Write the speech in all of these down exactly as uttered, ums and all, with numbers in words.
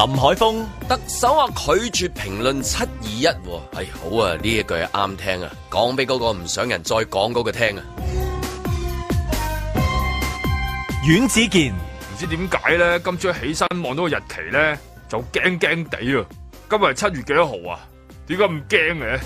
林海峰， 特首話拒絕評論七二一，係好啊，呢一句係啱聽啊，講俾嗰個唔想人再講嗰個聽啊。 阮子健， 唔知點解咧，今朝起身望到個日期咧，就驚驚地啊！今日係七月幾多號啊？點解咁驚嘅？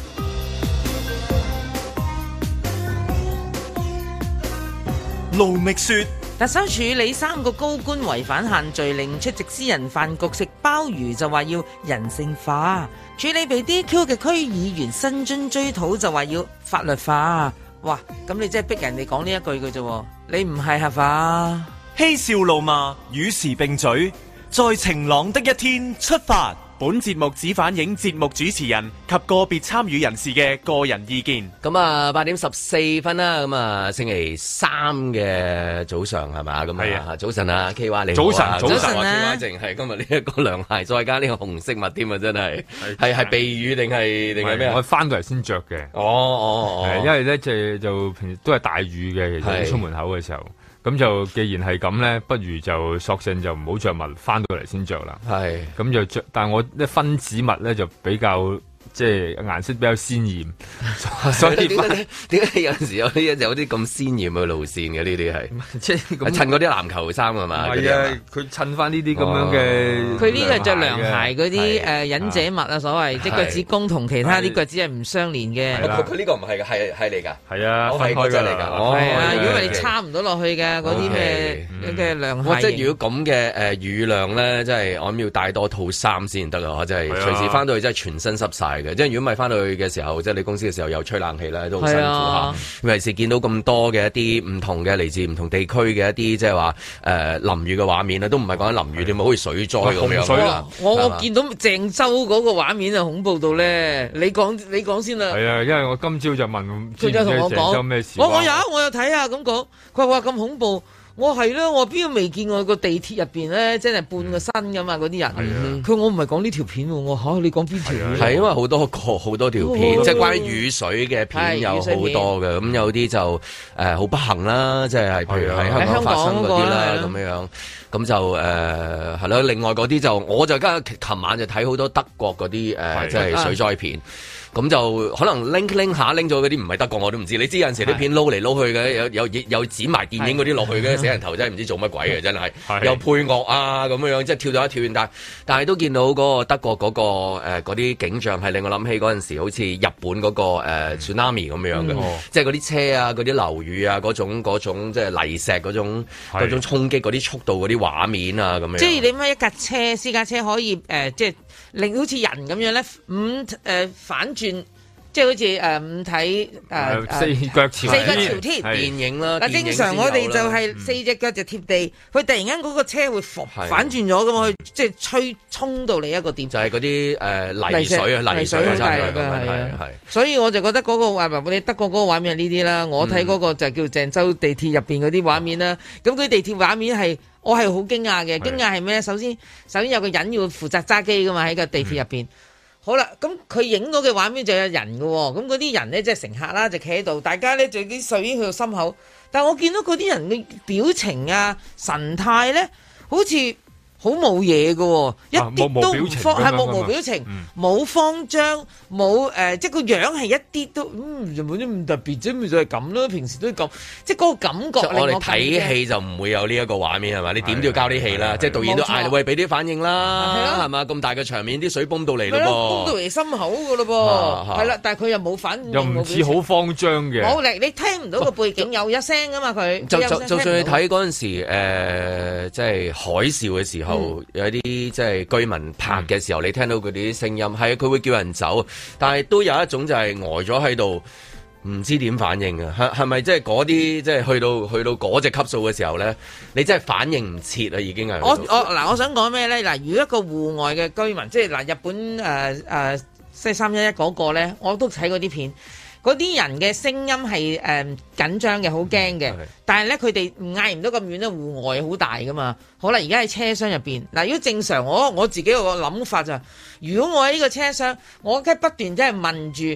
盧覓雪， 特首處理三個高官違反限聚令出席私人飯局食鮑魚就話要人性化，處理被 D Q 嘅區議員薪津追討就話要法律化。哇！咁你真係逼人哋講呢一句嘅啫，你唔係合法？ 嬉笑怒罵與時並舉，在晴朗的一天出發。本節目只反映節目主持人及個別參與人士嘅個人意見。 咁啊，八點十四分啦，咁啊，星期三嘅早上係嘛？咁啊，早晨啊 K Y 你好啊， 早晨，早晨啊 K Y 淨係今日呢一個涼鞋，再加呢個紅色襪添啊，真係係係避雨定係定係咩啊？ 我翻到嚟先着嘅。 哦哦哦， 因為咧即係就平時都係大雨嘅，其實出門口嘅時候。咁就既然係咁咧，不如就索性就唔好着襪，翻到嚟先着啦。係，咁就着，但係我啲分子襪咧就比較。即係顏色比較鮮豔，所以點解點解有陣時有啲有啲咁鮮豔嘅路線嘅呢啲係，即係襯嗰啲籃球衫係嘛？係啊，佢襯翻呢啲咁樣嘅。佢呢個着涼鞋嗰啲誒忍者襪啊，所謂即係腳趾公同其他啲腳趾係唔相連嘅。佢佢呢個唔係㗎，係係嚟㗎。係啊，分開㗎嚟㗎。係啊，如果你插唔到落去嘅嗰啲咩嘅涼鞋。即係如果咁嘅誒雨量咧，即係我諗要帶多套衫先得啊！即係隨時翻到去真係全身濕曬。即係如果唔係翻到去嘅時候，即係你公司嘅時候又吹冷氣咧，都好辛苦嚇。尤其是見到咁多嘅一啲唔同嘅嚟自唔同地區嘅一啲即係話誒淋雨嘅畫面咧，都唔係講緊淋雨，點解好似水災咁樣啦？我我見到鄭州嗰個畫面啊，恐怖到咧！你講你講先啦。係啊，因為我今朝就問佢就同我講，我我有我有睇啊，咁講佢話咁恐怖。我係啦，我邊度未見過個地鐵入邊咧，真係半個身噶嘛嗰啲人。佢、嗯、我唔係講呢條片喎，我嚇、啊、你講邊條片？係因為好多個好多條片，哦、即係關於雨水嘅片有好多嘅。咁有啲就誒好、呃、不幸啦，即係譬如喺香港發生嗰啲啦咁樣樣。咁就誒係咯，另外嗰啲就我就今日琴晚就睇好多德國嗰啲誒，即係水災片。咁就可能拎拎下拎咗嗰啲唔係德國我都唔知，你知有陣時啲片撈嚟撈去嘅，有有有剪埋電影嗰啲落去嘅，死人頭真係唔知做乜鬼嘅，真係又配樂啊咁樣樣，即係跳咗一跳遠，但但係都見到嗰個德國嗰個誒嗰啲景象係令我諗起嗰陣時好似日本嗰個誒 tsunami 咁樣嘅，即係嗰啲車啊、嗰啲樓宇啊、嗰種嗰種即係泥石嗰種嗰種衝擊嗰啲速度嗰啲畫面啊咁樣。即係你乜一架車私家車可以誒即係令好似人咁樣咧，五誒反轉。即係好似誒五體誒四腳朝四腳朝天電影啦。嗱，正常我哋就係四隻腳就貼地，佢突然間嗰個車會反轉咗咁，佢即係吹衝到你一個點，就係嗰啲誒泥水啊泥水係係係。所以我就覺得嗰個畫面，你德國嗰個畫面係呢啲啦。我睇嗰個就叫鄭州地鐵入邊嗰啲畫面啦。咁佢地鐵畫面係我係好驚訝嘅，驚訝係咩咧？首先首先有個人要負責揸機噶嘛，喺個地鐵入邊。好啦，咁佢影到嘅畫面就有人嘅喎，咁嗰啲人咧即係乘客啦，就企喺度，大家咧就啲水已經去到心口，但係我見到嗰啲人嘅表情啊、神態咧，好似好冇嘢嘅，一啲都唔慌，係冇冇表情，冇慌張，冇誒，即係個樣係一啲都，嗯，就冇啲咁特別啫，咪就係咁咯。平時都咁，即係嗰個感覺。我哋睇戲就唔會有呢一個畫面係嘛？你點都要交啲戲啦，即係導演都嗌你喂俾啲反應啦，係嘛？咁大嘅場面，啲水泵到嚟咯噃，泵到嚟心口嘅咯噃，係啦，但係佢又冇反應，又唔似好慌張嘅。冇力，你聽唔到個背景有一聲噶嘛？佢就就就算你睇嗰陣時誒，即係海嘯嘅時候。嗯、有啲即係居民拍嘅時候，嗯、你聽到佢哋啲聲音，係佢會叫人走，但係都有一種就係呆咗喺度，唔知點反應啊？係係咪即係嗰啲即係去到去到嗰隻級數嘅時候咧，你真係反應唔切啊？已經係我我嗱，我想講咩咧？嗱，如果一個戶外嘅居民，即係嗱，日本誒誒即係三一一嗰個咧，我都睇過啲片。嗰啲人嘅聲音係誒緊張嘅，好驚嘅。嗯、但係咧，佢哋嗌唔到咁遠咧，戶外好大噶嘛。好啦，而家喺車廂入邊嗱，如果正常，我我自己有個諗法就係，如果我喺呢個車廂，我梗係不斷即係問住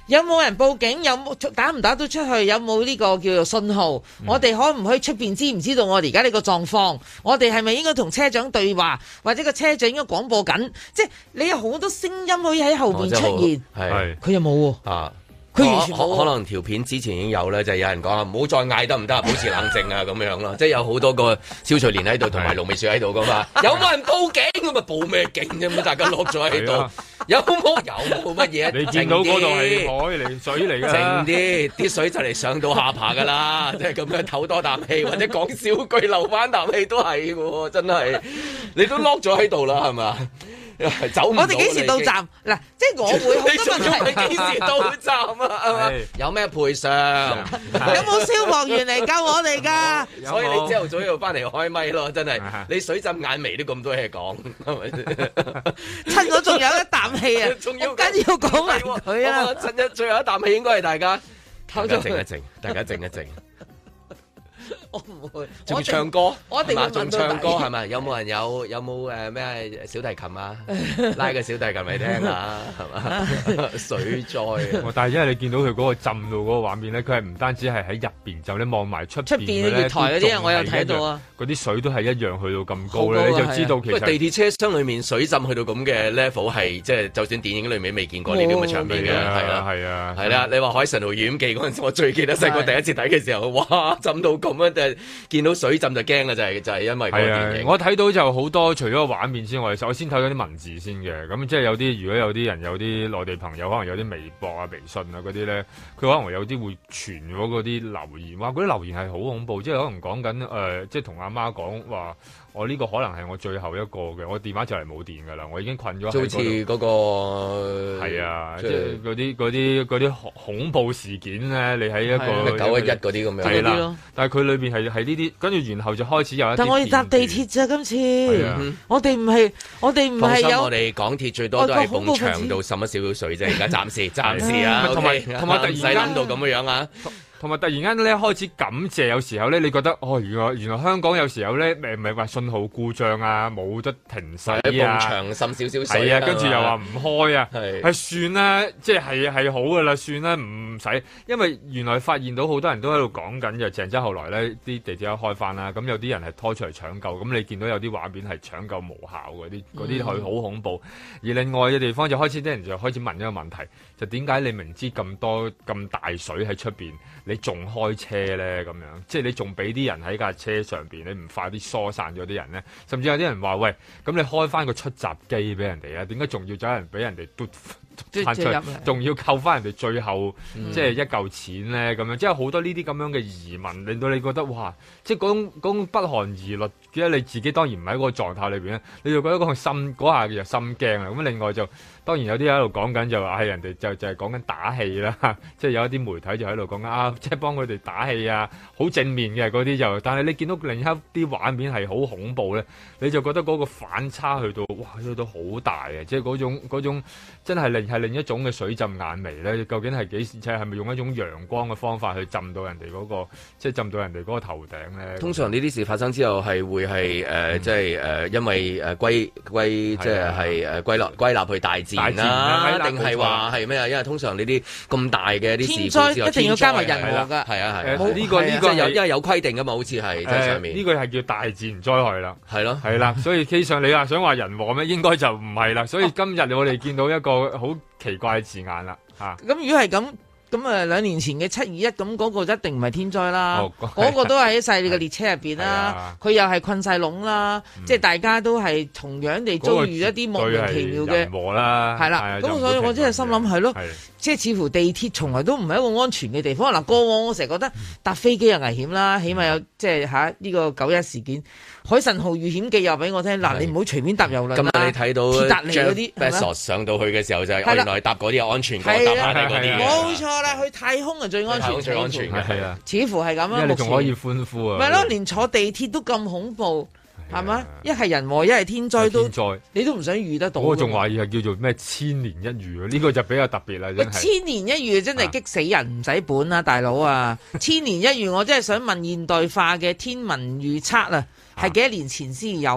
有冇人報警？有冇打唔打到出去？有冇呢個叫做信號？嗯、我哋可唔可以出邊知唔知道我哋而家呢個狀況？我哋係咪應該同車長對話，或者個車長應該廣播緊？即係你有好多聲音可以喺後邊出現，係佢又冇啊。佢完全冇， 可能條片之前已經有咧，就係、是、有人講啊，唔好再嗌得唔得啊，保持冷靜啊咁樣咯，即係有好多個蕭翠蓮喺度，同埋盧美雪喺度噶嘛，有冇人報警咁啊？報咩警啫？咁大家落咗喺度，有冇有冇乜嘢？ 你見到嗰度係海嚟水嚟㗎， 靜啲，啲水就嚟上到下巴㗎啦，即係咁樣唞多啖氣，或者講少句留翻啖氣都係喎，真係你都落咗喺度啦，係咪？走唔到， 我哋幾時到站？嗱，即係我會好多問題。 你幾時到站啊？係嘛？有咩賠償？ 有冇消防員嚟救我哋㗎？ 所以你朝頭早要翻嚟開咪咯，真係你水浸眼眉都咁多嘢講，係咪？ 趁我仲有一啖氣啊！ 仲要緊要講埋佢啊！ 趁一最後一啖氣應該係大家，大家靜一靜，大家靜一靜。 我唔會， 仲唱歌， 我一定會仲唱歌係咪？有冇人有有冇誒咩小提琴啊？拉個小提琴嚟聽下係嘛？水災， 但係因為你見到佢嗰個浸到嗰個畫面咧，佢係唔單止係喺入邊浸，你望埋出邊嘅月台嗰啲，我有睇到啊。嗰啲水都係一樣去到咁高咧，你就知道其實地鐵車廂裏面水浸去到咁嘅 level 係即係，就算電影裏面未見過呢啲咁嘅場面嘅，係啦係啊係啦。你話《海神號遇險記》嗰陣時，我最記得細個第一次睇嘅時候，哇浸到咁樣，就係見到水浸就驚啦，就係就係因為嗰個電影。 我睇到就好多，除咗個畫面之外，我先睇到啲文字先嘅。咁即係有啲，如果有啲人有啲內地朋友，可能有啲微博啊、微信啊嗰啲咧，佢可能有啲會傳咗嗰啲留言，哇！嗰啲留言係好恐怖，即係可能講緊誒，即係同阿媽講話。我呢個可能係我最後一個嘅，我電話就嚟冇電㗎啦，我已經困咗喺嗰度。 好似嗰個係啊，即係嗰啲嗰啲嗰啲恐怖事件咧，你喺一個九一一嗰啲咁樣係啦。但係佢裏邊係係呢啲，跟住然後就開始有一啲。 但我哋搭地鐵咋今次，我哋唔係我哋唔係有。 我哋港鐵最多都係埲牆度滲一少少水啫，而家暫時暫時啊， 同埋同埋突然間諗到咁嘅樣啊。 同埋突然間咧開始感謝，有時候咧你覺得哦，原來原來香港有時候咧誒唔係話信號故障啊，冇得停駛啊， 埲牆滲少少水啊，跟住又話唔開啊，係係算啦，即係係係好噶啦，算啦，唔使，因為原來發現到好多人都喺度講緊，就鄭州後來咧啲地鐵一開翻啦，咁有啲人係拖出嚟搶救，咁你見到有啲畫面係搶救無效嗰啲，嗰啲係好恐怖。而另外嘅地方就開始啲人就開始問一個問題，就點解你明知咁多咁大水喺出邊？你仲開車咧咁樣，即係你仲俾啲人喺架車上邊，你唔快啲疏散咗啲人咧？甚至有啲人話：喂，咁你開翻個出閘機俾人哋啊？點解仲要走人俾人哋嘟翻出，仲要扣翻人哋最後、嗯、即係一嚿錢咧？咁樣即係好多呢啲咁樣嘅疑問，令到你覺得哇！即係嗰種嗰種不寒而栗，記得你自己當然唔喺嗰個狀態裏邊咧，你就覺得嗰個心嗰下就心驚啦。咁另外就當然有啲喺度講緊就話係人哋就就係講緊打氣啦，即係有一啲媒體就喺度講緊啊，即係幫佢哋打氣啊，好正面嘅嗰啲就，但係你見到另一啲畫面係好恐怖咧，你就覺得嗰個反差去到哇，去到好大嘅，即係嗰種嗰種真係另係另一種嘅水浸眼眉咧。究竟係幾時？即係係咪用一種陽光嘅方法去浸到人哋嗰個，即係浸到人哋嗰個頭頂咧？ 通常呢啲事發生之後係會係誒，即係誒，因為誒歸歸即係係誒歸納歸納去大自然啦，定係話係咩啊？因為通常呢啲咁大嘅啲事故之後， 一定要加埋人禍㗎。 係啊係。 呢個呢個有因為有規定㗎嘛，好似係即係上面。 呢個係叫大自然災害啦。 係咯， 係啦。所以基上你話想話人禍咩？應該就唔係啦。所以今日我哋見到一個好奇怪嘅字眼啦。嚇。咁如果係咁。咁啊，兩年前嘅七二一，咁嗰個一定唔係天災啦，嗰、哦、個都係喺細你嘅列車入邊啦，佢又係困晒籠啦，嗯、即係大家都係同樣地遭遇一啲莫名其妙嘅，係啦，咁所以我真係心諗係咯，即係似乎地鐵從來都唔係一個安全嘅地方。嗱，過往我成日覺得搭飛機又危險啦，起碼有即係嚇呢個九一事件。海神號遇險記又俾我聽，嗱你唔好隨便搭郵輪啦。 今日你睇到鐵達尼嗰啲 Bezos 上到去嘅時候就係原來搭嗰啲有安全過，搭下嗰啲冇錯啦，去太空係最安全， 最安全嘅係啊， 似乎係咁啊。 因為你仲可以歡呼啊， 咪咯，連坐地鐵都咁恐怖，係嘛？一係人禍，一係天災都，你都唔想遇得到。 我仲懷疑係叫做咩千年一遇啊？呢個就比較特別啦，真係。 千年一遇真係激死人，唔使本啊，大佬啊！千年一遇，我真係想問現代化嘅天文預測啊！係幾多年前先有啊？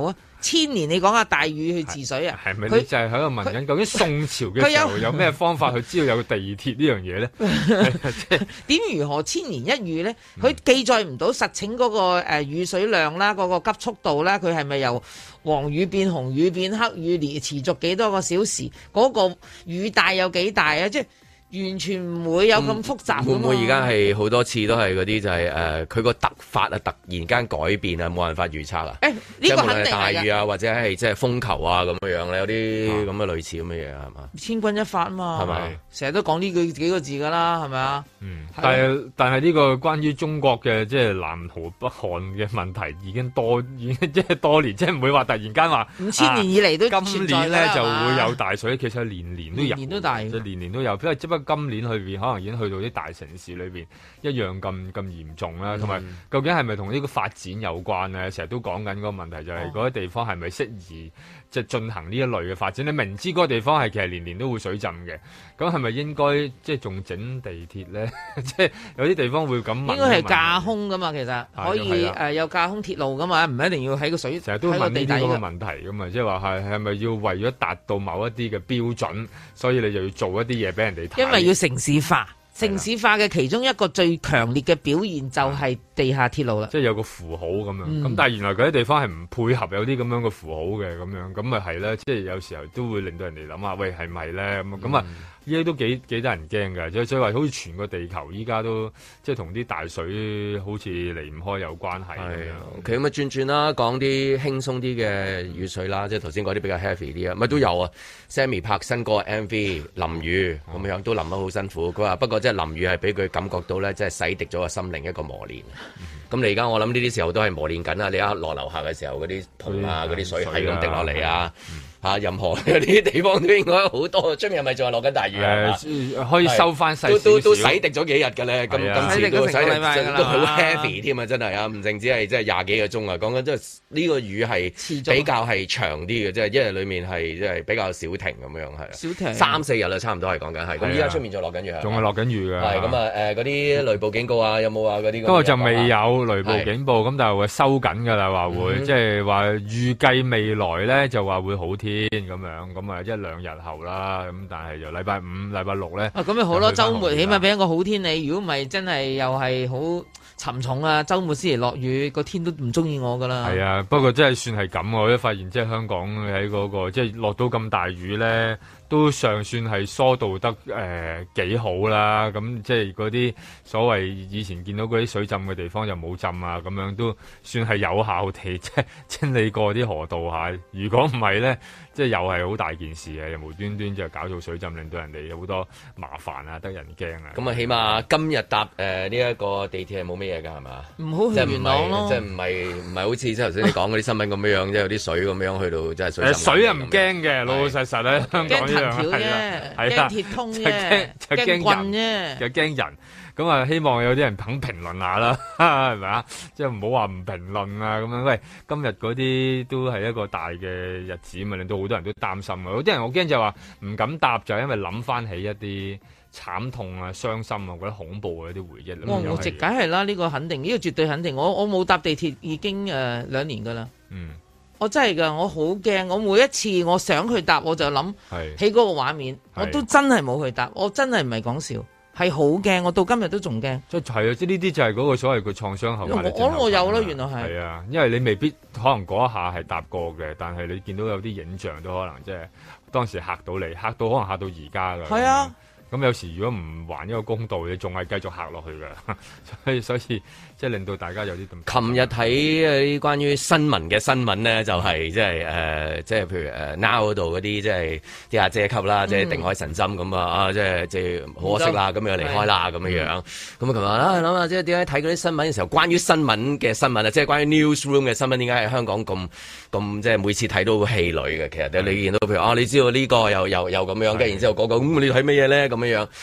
千年你講下大禹去治水啊？ 係咪你就係喺度問緊究竟宋朝嘅時候有咩方法去知道有地鐵呢樣嘢咧？ 點如何千年一遇咧？佢記載唔到實情嗰個誒雨水量啦，嗰、嗰個急速度啦，佢係咪由黃雨變紅雨變黑雨，連持續幾多個小時？嗰、嗰個雨大有幾大啊？即係。完全唔會有咁複雜。 會唔會而家係好多次都係嗰啲就係、是、誒，佢、呃、個突發啊，突然間改變啊，冇辦法預測啊。誒、欸，呢、這個肯定係大雨啊，或者係即係風球啊咁樣樣咧，有啲咁嘅類似咁嘅嘢係嘛？千鈞一髮啊嘛，係咪？成日都講呢句幾個字㗎啦，係咪啊？嗯， 但係但係呢個關於中國嘅即係南河北韓嘅問題已經多已經即係多年，即係唔會話突然間話五千年以嚟都、 啊、今年咧就會有大水，其實年年都有， 年年都大， 即係年年都有，因為只不過今年裏邊可能已經去到啲大城市裏邊一樣咁咁嚴重啦，同埋、嗯、究竟係咪同呢個發展有關咧？成日都講緊嗰個問題就係嗰啲地方係咪適宜即係進行呢一類嘅發展？你明知嗰個地方係其實年年都會水浸嘅，咁係咪應該即係仲整地鐵咧？即係有啲地方會咁問， 應該係架空噶嘛，其實可以誒、呃、有架空鐵路噶嘛，唔一定要喺個水成日都問呢啲咁嘅問題噶嘛，即係話係係咪要為咗達到某一啲嘅標準，所以你就要做一啲嘢俾人哋睇？ 因為要城市化。城市化嘅其中一個最強烈嘅表現就係地下鐵路啦， 即係有個符號咁樣，咁、嗯、但係原來嗰啲地方係唔配合有啲咁樣嘅符號嘅咁樣，咁咪係咧，即係有時候都會令到人哋諗下，喂係咪咧咁咁啊？依家都幾幾得人驚㗎，即係所以話好似全個地球依家都即係同啲大水好似離唔開有關係咁樣。 OK，咁啊轉轉啦，講啲輕鬆啲嘅雨水啦，即係頭先嗰啲比較 heavy 啲啊，咪都有啊。Sammy 拍新歌 M V 淋雨咁樣都淋得好辛苦，佢話不過即係淋雨係俾佢感覺到咧，即係洗滌咗個心靈一個磨練。咁、嗯、你而家我諗呢啲時候都係磨練緊啦。你一落樓下嘅時候嗰啲盆啊，嗰啲水係咁滴落嚟啊。啊！任何嗰啲地方都應該好多，出面係咪仲係落緊大雨啊、 呃？可以收翻細少少， 都都洗滌咗幾日嘅咧。今今次都洗滌都好 heavy 添啊！真係啊，唔淨止係即係廿幾個鐘啊。講緊即係呢個雨係比較係長啲嘅，即係一日裡面係即係比較少停咁樣係。少停三四日啦，差唔多係講緊係。咁依家出面仲落緊雨，仲係落緊雨㗎。係咁啊！誒嗰啲雷暴警告啊，有冇啊？嗰啲不過就未有雷暴警報，咁但係會收緊㗎啦，話會即係話預計未來咧就話會好天咁樣。咁啊，一兩日後啦，咁但係就禮拜五、禮拜六咧。啊，咁咪好咯，週末起碼俾一個好天你。如果唔係，真係又係好沉重啊！週末先嚟落雨，個天都唔中意我噶啦。係啊，不過真係算係咁，我都發現即係香港喺嗰個即係落到咁大雨咧，都尚算係疏導得誒幾好啦。咁即係嗰啲所謂以前見到嗰啲水浸嘅地方又冇浸啊，咁樣都算係有效地即係清理過啲河道下。如果唔係咧，即係又係好大件事嘅，又無端端就搞到水浸，令到人哋有好多麻煩啊，得人驚啊。咁啊，起碼今日搭誒呢一個地鐵係冇咩嘢㗎，係嘛？唔好去元朗咯，即係唔係唔係好似即係頭先你講嗰啲新聞咁樣樣，即係有啲水咁樣去到即係水浸。誒水啊唔驚嘅，老老實實咧，香港一樣係啦，驚鐵通啫，驚棍啫，就驚人。咁啊，希望有啲人肯評論下啦，係咪啊？即係唔好話唔評論啊咁樣。喂，今日嗰啲都係一個大嘅日子，咪令到好多人都擔心啊！有啲人我驚就話唔敢答，就係因為諗翻起一啲慘痛啊、傷心啊、覺得恐怖嘅一啲回憶。我我直解係啦，呢、呢個肯定，呢、呢個絕對肯定。我我冇搭地鐵已經誒、呃、兩年㗎啦。嗯，我真係㗎，我好驚。我每一次我想去搭，我就諗起嗰個畫面，我都真係冇去搭。我真係唔係講笑。係好驚，我到今日都仲驚。即係啊，即係呢啲就係嗰個所謂嘅創傷後壓力症候群。我我有咯，原來係。係啊，因為你未必可能嗰一下係搭過嘅，但係你見到有啲影像都可能即係當時嚇到你，嚇到可能嚇到而家㗎。係啊。咁有時如果唔還一個公道，你仲係繼續嚇落去㗎。所以所以即係令到大家有啲咁。琴日睇啲關於新聞嘅新聞咧，就係即係誒，即係譬如誒 Now 嗰度嗰啲即係啲阿姐級啦，即係定海神針咁啊！啊，即係即係可惜啦，咁樣離開啦，咁樣樣。咁啊，琴日啊諗下即係點解睇嗰啲新聞嘅時候，關於新聞嘅新聞啊，即係關於 newsroom 嘅新聞，點解喺香港咁咁即係每次睇到好氣餒嘅？其實你見到譬如啊，你知道呢個又又又咁樣，跟住然之後嗰個咁你睇乜嘢咧？咁樣樣，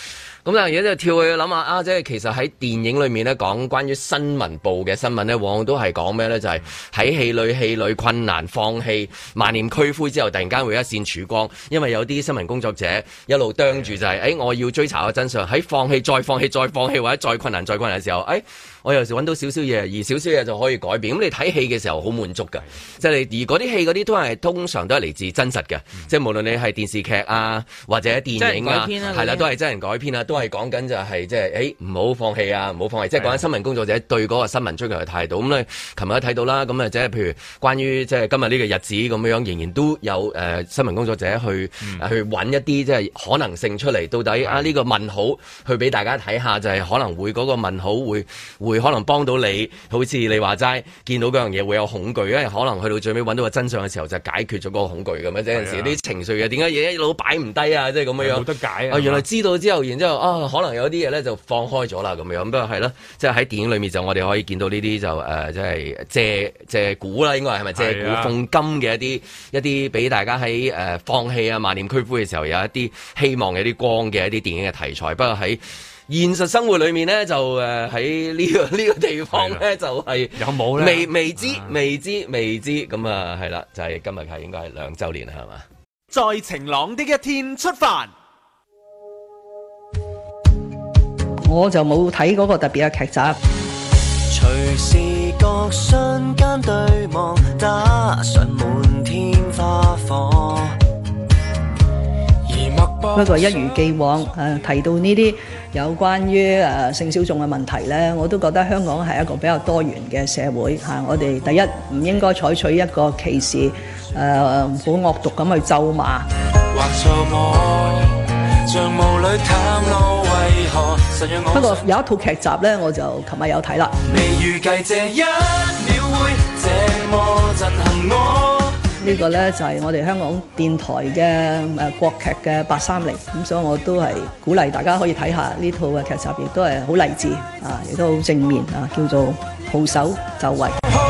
咁但係而家就跳去諗下啊，即係其實喺電影裏面咧講關於新聞部嘅新聞咧，往往都係講咩咧？就係喺戲裏戲裏困難放棄萬念俱灰之後，突然間會一線曙光，因為有啲新聞工作者一路啄住就係、是，誒、哎、我要追查個真相，喺放棄再放棄再放棄或者再困難再困難嘅時候，誒、哎、我有時揾到少少嘢，而少少嘢就可以改變。咁你睇戲嘅時候好滿足㗎，即係而嗰啲戲嗰啲都係通常都係嚟自真實嘅，嗯、即係無論你係電視劇啊或者電影啊，係啦、啊、都係真人改編啊，都係講緊就係即係誒唔好放棄啊，唔好放棄，即係講緊新聞工作者對嗰個新聞追求嘅態度。咁你琴日都睇到啦，咁啊即係譬如關於即係今日呢個日子咁樣，仍然都有誒、呃、新聞工作者去、嗯、去揾一啲即係可能性出嚟，到底啊呢、呢個問號去俾大家睇下，就係、是、可能會嗰個問號會會可能幫到你，好似你話齋見到嗰樣嘢會有恐懼，因為可能去到最尾揾到個真相嘅時候就解決咗嗰個恐懼咁樣。有陣時啲情緒嘅點解嘢一路擺唔低啊？即係咁樣樣冇得解啊！原來知道之後，然之後啊，可能有啲嘢咧就放開咗啦咁樣。不過係咯，即係喺電影裏面就我哋可以見到呢啲就誒，即係借借古啦，應該係咪借古諷今嘅一啲一啲俾大家喺誒、呃、放棄啊萬念俱灰嘅時候有一啲希望嘅一啲光嘅一啲電影嘅題材。不過喺現實生活裏面咧，就誒喺呢個呢、這個地方咧，就係、是、有冇咧？未未知、啊、未知未知咁啊，係啦，就係、是、今日係應該係兩週年係嘛？ 在晴朗的一天出發。 我就冇睇嗰個特別嘅劇集。隨時各瞬間對望，打上滿天花火。不過一如既往，誒、呃、提到呢啲有關於誒、呃、性小眾嘅問題咧，我都覺得香港係一個比較多元嘅社會嚇、啊。我哋第一唔應該採取一個歧視誒好惡毒咁去咒罵。不過有一套劇集咧，我就琴日有睇啦。呢個呢，就係我哋香港電台嘅誒國劇嘅八三零，咁所以我都係鼓勵大家可以睇下呢套嘅劇集，亦都係好勵志啊，亦都好正面啊，叫做號手就位。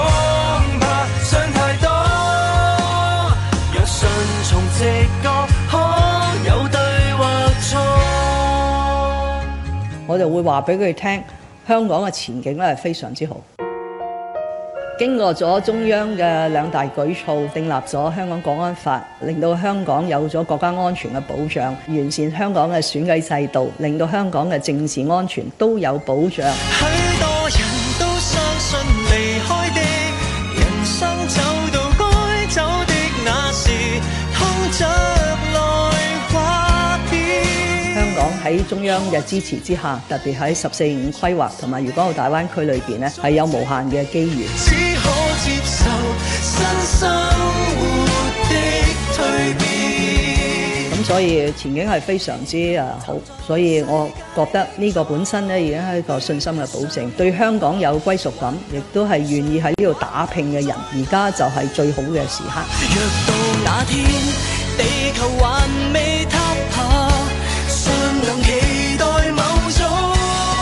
我就會話俾佢哋聽，香港嘅前景咧係非常之好。經過咗中央嘅兩大舉措，訂立咗香港國安法，令到香港有咗國家安全嘅保障，完善香港嘅選舉制度，令到香港嘅政治安全都有保障。許多人都相信離開的人生走到該走的那時，通着來話別。香港喺中央嘅支持之下，特別喺十四五規劃同埋粵港澳大灣區裏邊呢，係有無限嘅機遇。接受新生活的蛻變，咁所以前景係非常之誒好，所以我覺得呢個本身咧已經係一個信心嘅保證，對香港有歸屬感，亦都係願意喺呢度打拼嘅人，而家就係最好嘅時刻。若到那天地球還未塌下，尚能期待某種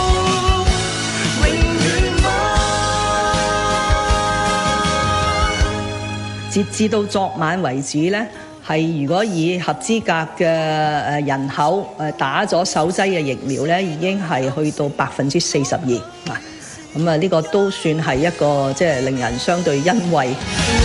截至到昨晚為止呢，係如果以合資格嘅誒人口誒打咗首劑嘅疫苗呢，已經係去到百分之四十二啊！咁啊，呢個都算係一個即係令人相對欣慰。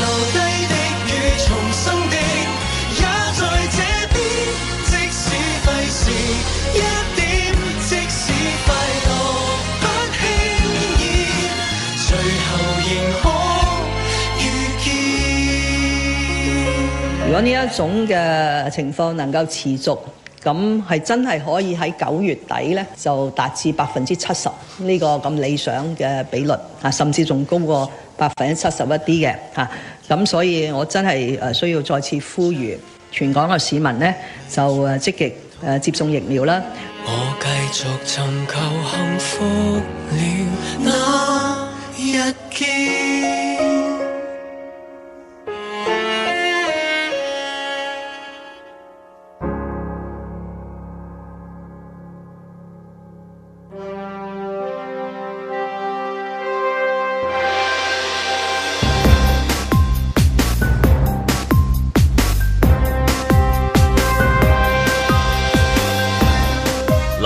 如果呢一種嘅情況能夠持續，咁係真係可以喺九月底咧就達至百分之七十呢個咁理想嘅比率啊，甚至仲高過百分之七十一啲嘅嚇。咁所以我真係誒需要再次呼籲全港嘅市民咧，就誒積極誒接種疫苗啦。我繼續尋求幸福了那一天。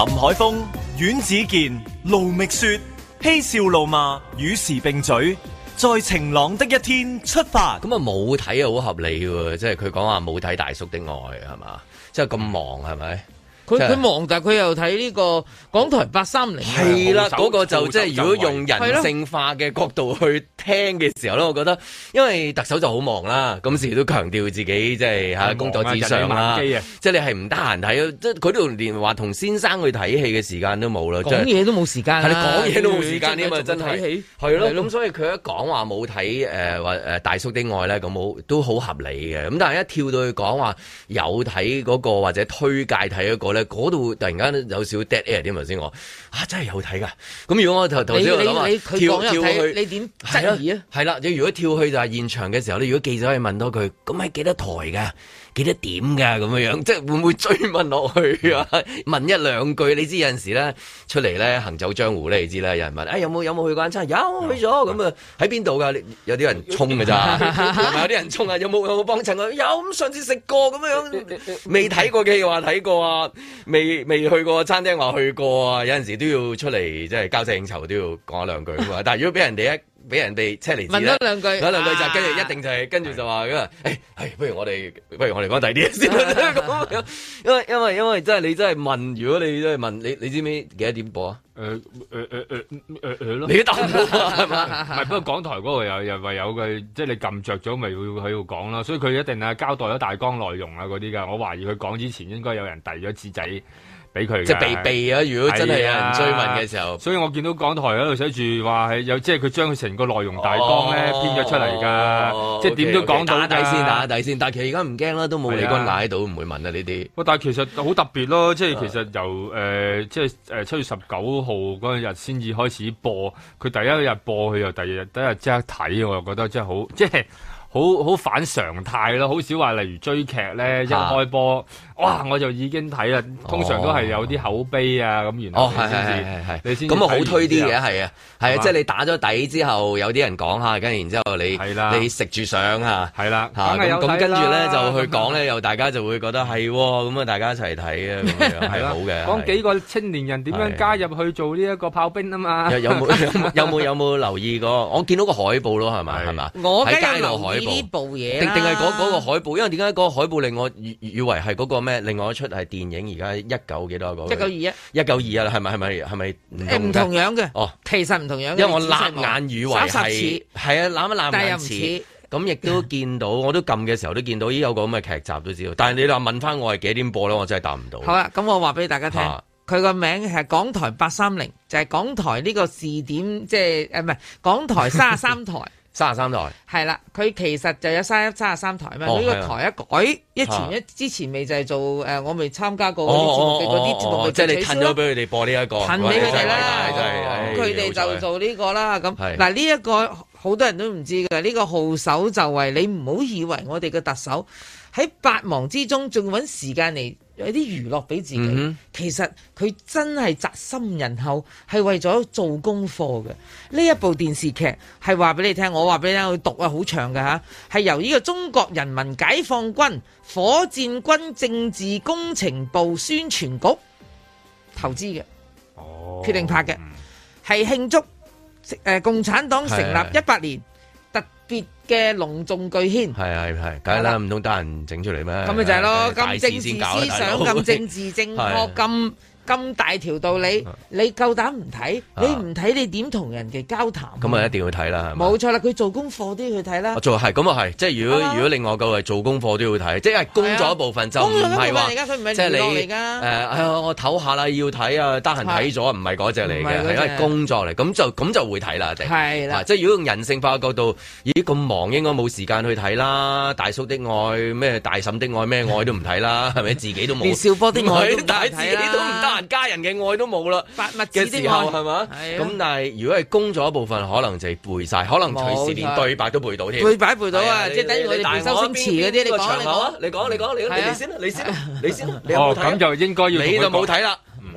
林海峰、阮子健、盧覓雪，嬉笑怒罵，與時並舉，在晴朗的一天出發。 咁啊冇睇啊，好合理喎，即係佢講話冇睇大叔的愛係嘛，即係咁忙係咪？ 佢佢忙，但係佢又睇呢個港台八三零。 係啦，嗰個就即係如果用人性化嘅角度去聽嘅時候咧，我覺得因為特首就好忙啦，咁時都強調自己即係嚇工作至上啦，即係你係唔得閒睇，即係佢都連話同先生去睇戲嘅時間都冇啦， 講嘢都冇時間， 係你講嘢都冇時間添啊！真係係咯，咁所以佢一講話冇睇誒話誒大叔的愛咧，咁冇都好合理嘅。咁但係一跳到去講話有睇嗰個或者推介睇嗰個咧。嗰度突然間有少 dead air 添，頭先我啊真係有睇㗎。咁如果我頭頭先我諗話跳跳去， 你點質疑啊？ 係啦，你如果跳去就係現場嘅時候咧，如果記者可以問多句，咁係幾多台㗎？幾多點㗎？咁樣樣，即係會唔會追問落去啊？問一兩句，你知有陣時咧出嚟咧行走江湖咧，你知啦。有人問，誒、哎、有冇有冇去過餐？有去咗，咁啊喺邊度㗎？有啲人衝㗎咋，有啲人衝啊！有冇有冇幫襯啊？有，咁上次食過咁樣，未睇過嘅話睇過啊，未未去過餐廳話去過啊。有陣時都要出嚟即係交際應酬都要講一兩句㗎嘛。但係如果俾人哋一俾人哋車厘子咧， 問多兩句， 問兩句就跟住一定就係跟住就話咁啊！誒係，不如我哋不如我哋講第二啲嘢先啦。因為因為因為真係你真係問，如果你真係問你，你知唔知幾多點播啊？誒誒誒誒誒誒咯，你都答唔到係嘛？ 唔係，不過港台嗰個又又話有嘅，即係你撳着咗，咪會喺度講啦。所以佢一定係交代咗大綱內容啊嗰啲㗎。我懷疑佢講之前應該有人遞咗紙仔俾佢，即係避避啊！如果真係有人追問嘅時候， 所以我見到港台喺度寫住話係有，即係佢將佢成個內容大綱咧編咗出嚟㗎， 哦、 即係點都講到打底先，打底先。但係其實而家唔驚啦，都冇李君雅喺度，唔會問啊呢啲。 但係其實好特別咯，即係其實由誒、呃、即係誒七月十九號嗰日先至開始播，佢第一日播，佢又第二日第一日即刻睇，我又覺得真係好即係。好好反常態咯，好少話例如追劇咧，一開波，哇我就已經睇啦。通常都係有啲口碑啊咁，然後先至你先咁啊好推啲嘅，係啊係啊，即係你打咗底之後，有啲人講下，跟住然之後你你食住上嚇， 係啦嚇咁咁跟住咧就去講咧，又大家就會覺得係咁啊，大家一齊睇啊咁樣係好嘅。 講幾個青年人點樣加入去做呢一個炮兵啊嘛？ 有冇有冇有冇留意過？我見到個海報咯，係咪係嘛？ 我喺街度海。 呢部嘢定定係嗰嗰個海報，因為點解嗰個海報令我以以為係嗰個咩？另外一出係電影，而家一九幾多個？ 一九二一，一九二一啦，係咪係咪係咪唔同樣嘅？ 哦， 其實唔同樣嘅。 因為我擸眼以為係係啊，擸一擸眼似，咁亦都見到，我都撳嘅時候都見到，咦有個咁嘅劇集都知道。但係你話問翻我係幾點播咧，我真係答唔到。 好啦，咁我話俾大家聽，佢個名係港台八三零，就係港台呢個視點，即係誒唔係港台三十三台。 三十三台係啦，佢其實就有三一三十三台嘛。呢、哦、個台一改，一前一、啊、之前未就係做誒、呃，我未參加過嗰啲節目嘅嗰啲節目，即係你褪咗俾佢哋播呢、這、一個， 褪俾佢哋啦。咁佢哋就做呢個啦。咁嗱呢一個好多人都唔知嘅，呢、這個號手就係你唔好以為我哋嘅特首喺百忙之中仲揾時間嚟有啲娛樂俾自己，嗯、其實佢真係宅心仁厚，係為咗做功課嘅。呢一部電視劇係話俾你聽，我話俾你聽，佢讀啊好長嘅嚇，係由呢個中國人民解放軍火箭軍政治工程部宣傳局投資嘅，哦、決定拍嘅，係慶祝誒、呃、共產黨成立一百年。別嘅隆重巨獻， 係係係，梗係啦，唔通得人整出嚟咩？ 咁咪就係咯，咁政治思想，咁政治正確，咁咁大條道理，你夠膽唔睇？你唔睇你點同人哋交談？ 咁啊一定要睇啦， 冇錯啦，佢做功課都要去睇啦。 做係咁啊係，即係如果如果另外個係做功課都要睇，即係工作一部分就唔係話，即係你誒，係我唞下啦，要睇啊，得閒睇咗，唔係嗰隻嚟嘅，係因為工作嚟，咁就咁就會睇啦，一定係啦。 即係如果用人性化嘅角度，咦咁忙應該冇時間去睇啦，大叔的愛咩大嬸的愛咩愛都唔睇啦，係咪自己都冇？ 少波的愛都睇自己都唔得閒，家人嘅愛都冇啦， 發物嘅時候係嘛？咁但係如果係工作一部分，可能就係背晒，可能隨時連對白都背到添。 背白背到啊！即係等於我哋背周星馳嗰啲，你講你講你講你講你你先啦，你先啦，你先啦。 哦，咁就應該要你就冇睇啦。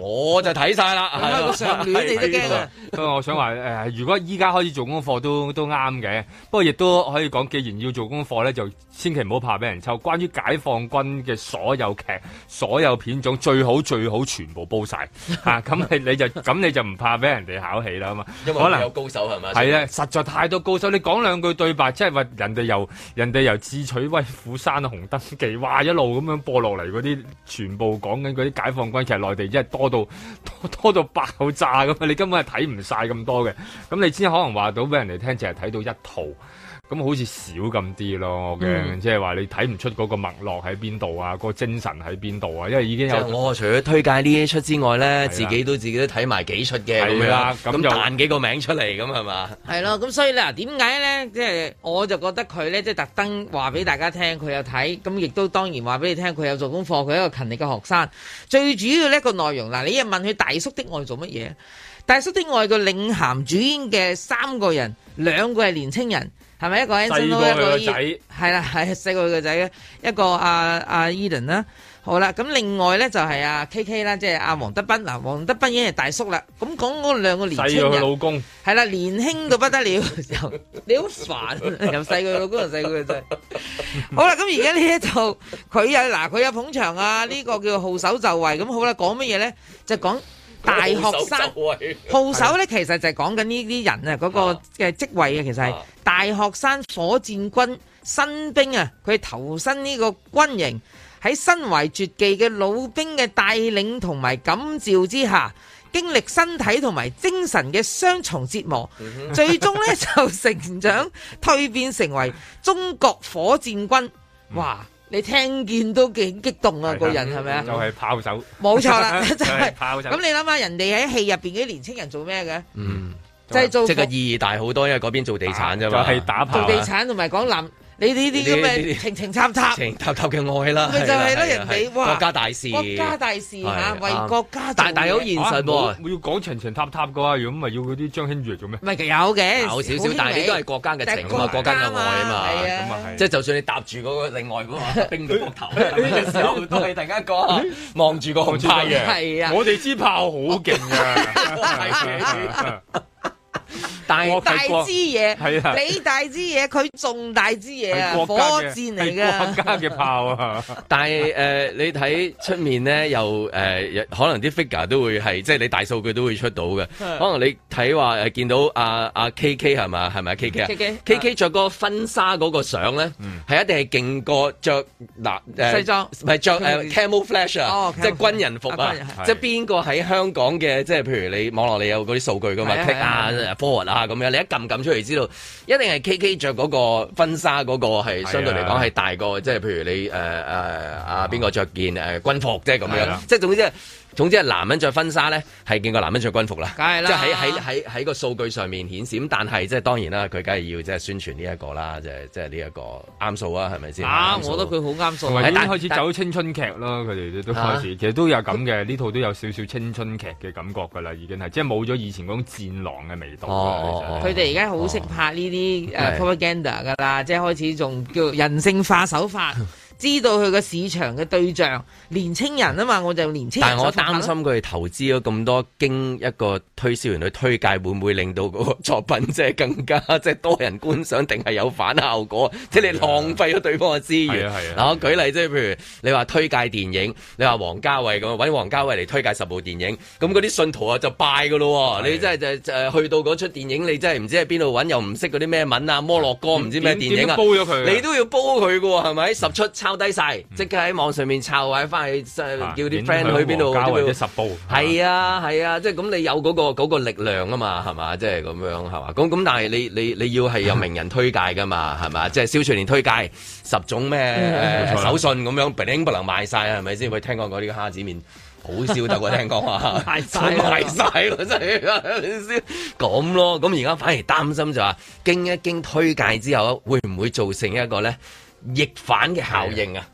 我就睇晒啦。 係個上聯你都驚啊！ 不過我想話誒，如果依家開始做功課都都啱嘅，不過亦都可以講，既然要做功課咧，就千祈唔好怕俾人抽。關於解放軍嘅所有劇、所有片種，最好最好全部煲晒嚇，咁、啊、你你就咁你就唔怕俾人哋考起啦嘛。 因為可能有高手係咪？係啊，實在太多高手，你講兩句對白，即係話人哋由人哋由智取威虎山紅燈記，哇一路咁樣播落嚟嗰啲，全部講緊嗰啲解放軍，其實內地真係多到多，多到爆炸咁啊！你根本係睇唔晒咁多嘅，咁你先可能話到俾人哋聽，淨係睇到一套。咁好似少咁啲咯嘅，即係話你睇唔出嗰個脈絡喺邊度啊，嗰個精神喺邊度啊，因為已經有。就是、我除咗推介呢一出之外咧，自己都自己都睇埋幾出嘅咁樣，咁彈幾個名出嚟咁係嘛？係咯，咁所以咧，點解咧？即係我就覺得佢咧，即係特登話俾大家聽，佢有睇，咁亦都當然話俾你聽，佢有做功課，佢係一個勤力嘅學生。最主要呢個內容嗱，你又問佢大叔的愛做乜嘢？大叔的愛個領銜主演嘅三個人，兩個係年青人。係咪一個 Anson 一個仔？係啦，係細個佢個仔嘅一個阿阿 Eden 啦。好啦，咁另外咧就係阿 K K 啦，即係阿黃德斌嗱，黃德斌已經係大叔啦。咁講嗰兩個年輕人，細佢老公係啦，年輕到不得了。又你好煩，又細佢老公又細佢個仔。好啦，咁而家呢一套佢有嗱，佢有捧場啊，呢、這個叫號手就位。咁好啦，講乜嘢咧？就講。大學生號手咧，其實就係講緊呢啲人啊，嗰個嘅職位啊，其實係大學生火箭軍新兵啊，佢投身呢個軍營，喺身懷絕技嘅老兵嘅帶領同埋感召之下，經歷身體同埋精神嘅雙重折磨，最終咧就成長蛻變成為中國火箭軍。哇！你聽見都幾激動啊！個人係咪啊？ 就係炮手， 冇錯啦，就係炮手。 咁你諗下，人哋喺戲入邊啲年青人做咩嘅？ 嗯， 就係做即係個意義大好多，因為嗰邊做地產啫嘛， 就係打炮。 做地產同埋講男。你呢啲咁嘅情情插插、 情插插嘅愛啦， 咪就係咯，人哋哇國家大事， 國家大事嚇，為國家做。 但但係好現實喎， 要講情情塔塔嘅話，如果唔係要嗰啲張馨予嚟做咩？ 唔係有嘅， 有少少，但係你都係國家嘅情啊嘛，國家嘅愛啊嘛，咁啊係。即係就算你搭住嗰個另外嗰個兵嘅膊頭，呢個時候都係突然間講，望住個紅太陽， 係啊， 我哋支炮好勁啊！ 大大支嘢，係啊！你大支嘢，佢仲大支嘢啊！火箭嚟嘅， 國家嘅炮啊！ 但係誒、呃，你睇出面咧，又誒、呃，可能啲 figure 都會係，即係你大數據都會出到嘅。可能你睇話誒，見到阿阿 K K 係嘛，係咪 K K 啊 ？K K K K 着個婚紗嗰個相咧，係、嗯、一定係勁過着嗱誒西裝， 唔係着誒 camouflage 啊， 哦、 即係軍人服啊！即係邊個喺香港嘅，即係譬如你網絡你有嗰啲數據噶嘛 ，click 啊 forward 啊咁樣，你一撳撳出嚟知道，一定係 K K 着嗰個婚紗嗰個係相對嚟講係大過，即係譬如你誒誒啊邊個着件誒軍服即係咁樣，即係總之係。總之係男人着婚紗咧，係見過男人着軍服啦， 梗係啦， 即係喺喺喺喺個數據上面顯示。咁但係即係當然啦，佢梗係要即係宣傳呢一個啦，即係即係呢一個啱數啊，係咪先？ 啊，我覺得佢好啱數。 同埋已經開始走青春劇咯，佢哋都開始，啊、其實都有咁嘅。呢套都有少少青春劇嘅感覺㗎啦，已經係即係冇咗以前嗰種戰狼嘅味道。 佢哋而家好識拍呢啲誒 propaganda 㗎啦，即係開始仲叫人性化手法。知道佢個市場嘅對象年青人啊嘛，我就年青人。但係我擔心佢哋投資咗咁多，經一個推銷員去推介，會唔會令到嗰個作品即係更加即係多人觀賞，定係有反效果？即係你浪費咗對方嘅資源。嗱，我舉例即係譬如你話推介電影，你話王家衛咁揾王家衛嚟推介十部電影，咁嗰啲信徒啊就拜噶咯。你真係就就去到嗰出電影，你真係唔知喺邊度揾，又唔識嗰啲咩文啊，摩洛哥唔知咩電影啊， 煲咗佢， 你都要煲佢噶喎，係咪？十出抄低晒，即刻喺網上面抄，或者翻去叫啲 friend 去邊度？ 交或者十部。 係啊係啊，即係咁你有嗰個嗰個力量啊嘛，係嘛？即係咁樣係嘛？咁咁但係你你你要係有名人推介噶嘛，係嘛？即係蕭翠蓮推介十種咩手信咁樣，並不能賣晒係咪先？喂，聽講嗰啲蝦子麵好燒得喎，聽講話賣晒賣晒咯，真係咁咯。咁而家反而擔心就話，經一經推介之後，會唔會造成一個咧逆反嘅效應啊？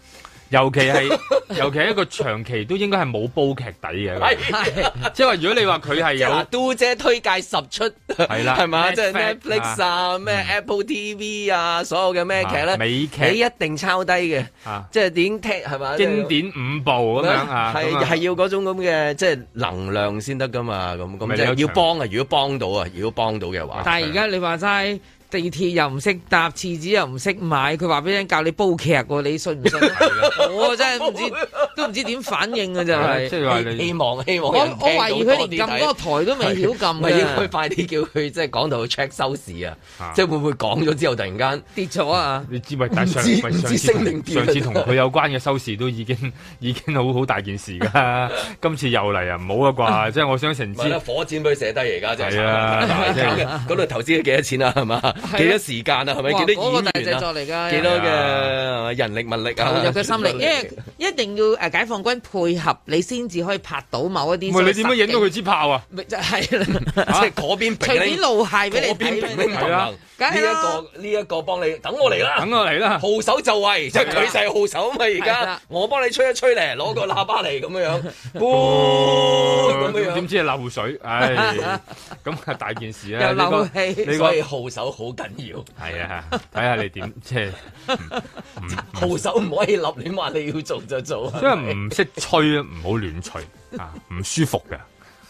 尤其係尤其係一個長期都應該係冇煲劇底嘅，即係話如果你話佢係有嘟姐推介十出係啦， 係嘛？即係 Netflix 啊，咩 Apple T V 啊，所有嘅咩劇咧， 美劇你一定抄低嘅，即係點聽係嘛？ 經典五部咁樣啊， 係係要嗰種咁嘅即係能量先得噶嘛，咁咁即係要幫啊！如果幫到啊，如果幫到嘅話， 但係而家你話齋。地鐵又唔識搭，廁紙又唔識買，佢話俾人教你煲劇喎，你信唔信？我真係唔知，都唔知點反應啊！就係即係話你希望希望我我懷疑佢連撳嗰個台都未曉撳咪應該快啲叫佢即係講到去 check 收視啊！即係會唔會講咗之後突然間跌咗啊？ 你知咪？但上上次上次同佢有關嘅收視都已經已經好好大件事㗎，今次又嚟啊！唔好啊啩！即係我想成支火箭俾佢寫低而家真係啊！ 嗰度投資咗幾多錢啊？係嘛？幾多時間啊？係咪？幾多演員啊？幾多嘅人力物力啊？ 投入嘅心力，因為一定要誒解放軍配合你先至可以拍到某一啲。 唔係你點樣影到佢支炮啊？ 咪就係啦， 即係嗰邊隨便露械俾你睇。 係啦，呢一個呢一個幫你等我嚟啦， 等我嚟啦， 號手就位，即係佢就係號手啊嘛！而家我幫你吹一吹嚟，攞個喇叭嚟咁樣樣，咁樣樣點知係漏水？唉，咁係大件事啊！ 又漏氣， 你個號手好緊要。 係啊，睇下你點即係號手唔可以立亂話你要做就做， 因為唔識吹啊，唔好亂吹啊，唔舒服嘅。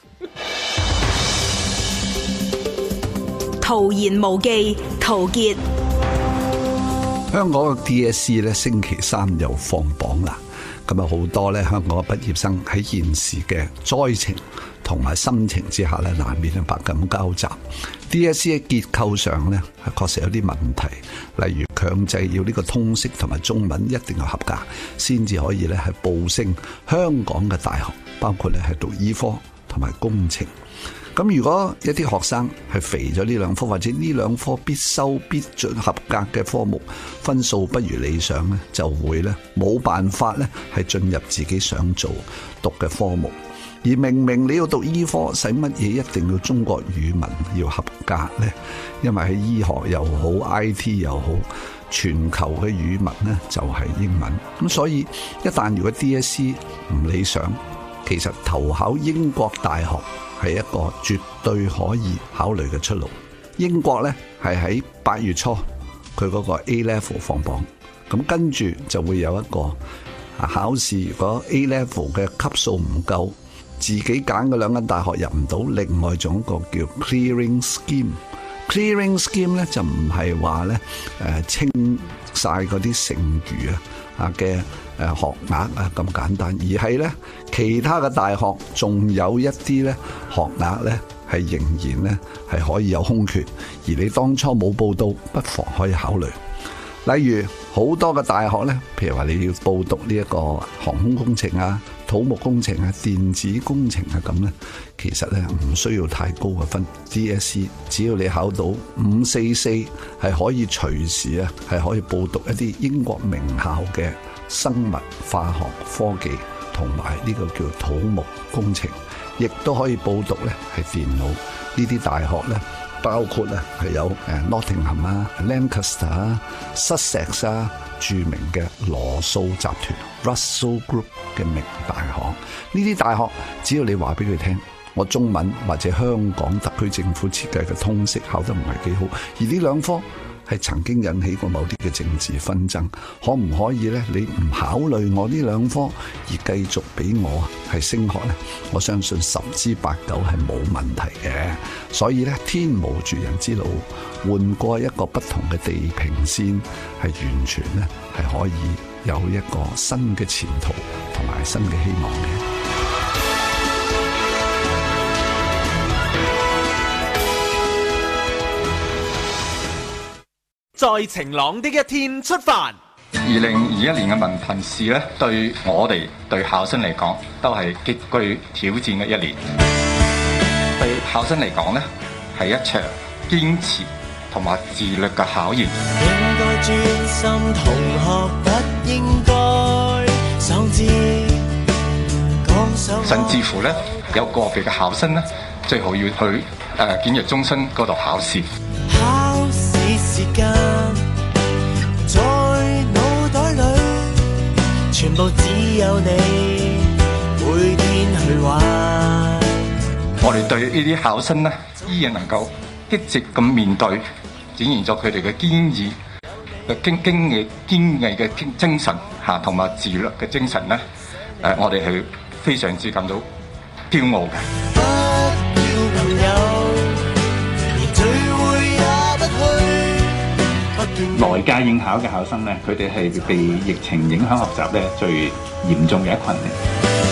陶言無忌，陶傑。 香港嘅 D S E 咧星期三又放榜啦，咁啊好多咧香港嘅畢業生喺現時嘅災情同埋心情之下咧，難免係百感交集。D S E 嘅結構上咧係確實有啲問題，例如強制要呢個通識同埋中文一定要合格，先至可以咧係報升香港嘅大學，包括咧係讀醫科同埋工程。咁如果一啲學生係肥咗呢兩科，或者呢兩科必修必準合格嘅科目分數不如理想咧，就會咧冇辦法咧係進入自己想做讀嘅科目。而明明你要讀醫科，使乜嘢一定要中國語文要合格呢？因為喺醫學又好 I T 又好，全球嘅語文呢就係英文。咁所以一旦如果 D S E 唔理想，其實投考英國大學係一個絕對可以考慮嘅出路。英國呢係喺八月初佢嗰個 A level 放榜，咁跟住就會有一個考試，如果 A level 嘅級數唔夠，自己揀嘅兩間大學入唔到，另外仲有一個叫 clearing scheme。clearing scheme 咧就唔係話咧誒清晒嗰啲剩餘啊啊嘅誒學額啊咁簡單，而係咧其他嘅大學仲有一啲咧學額咧係仍然咧係可以有空缺，而你當初冇報到，不妨可以考慮。例如好多嘅大學咧，譬如話你要報讀呢一個航空工程啊、土木工程啊、電子工程啊咁咧，其實咧唔需要太高嘅分 D S E， 只要你考到五四四，係可以隨時啊係可以報讀一啲英國名校嘅生物、化學、科技同埋呢個叫土木工程，亦都可以報讀咧係電腦呢啲大學咧。包括咧係有誒 Nottingham 啊、Lancaster 啊、Sussex 啊，著名嘅羅素集團 Russell Group 嘅名大行。呢啲大學只要你話俾佢聽，我中文或者香港特區政府設計嘅通識考得唔係幾好，而呢兩科係曾經引起過某啲嘅政治紛爭，可唔可以咧？你唔考慮我呢兩科而繼續俾我係升學咧？我相信十之八九係冇問題嘅。所以咧，天無絕人之路，換過一個不同嘅地平線，係完全咧係可以有一個新嘅前途同埋新嘅希望嘅。 在晴朗的一天出發。 二零二一年嘅文憑試咧，對我哋對考生嚟講，都係極具挑戰嘅一年。對考生嚟講咧，係一場堅持同埋自律嘅考驗。應該專心同學，不應該喪志。甚至乎咧，有個別嘅考生咧，最好要去誒、呃、檢閱中心嗰度考試。考試時間在腦袋裡全部覺只有你每天去玩。 我哋對呢啲考生呢，依然能夠積極咁面對，展現咗佢哋嘅堅毅嘅經經毅堅毅嘅精神嚇，同埋自律嘅精神呢，誒，我哋係非常之感到驕傲嘅。 來屆應考嘅考生呢，佢哋係被疫情影響學習咧最嚴重嘅一群嚟。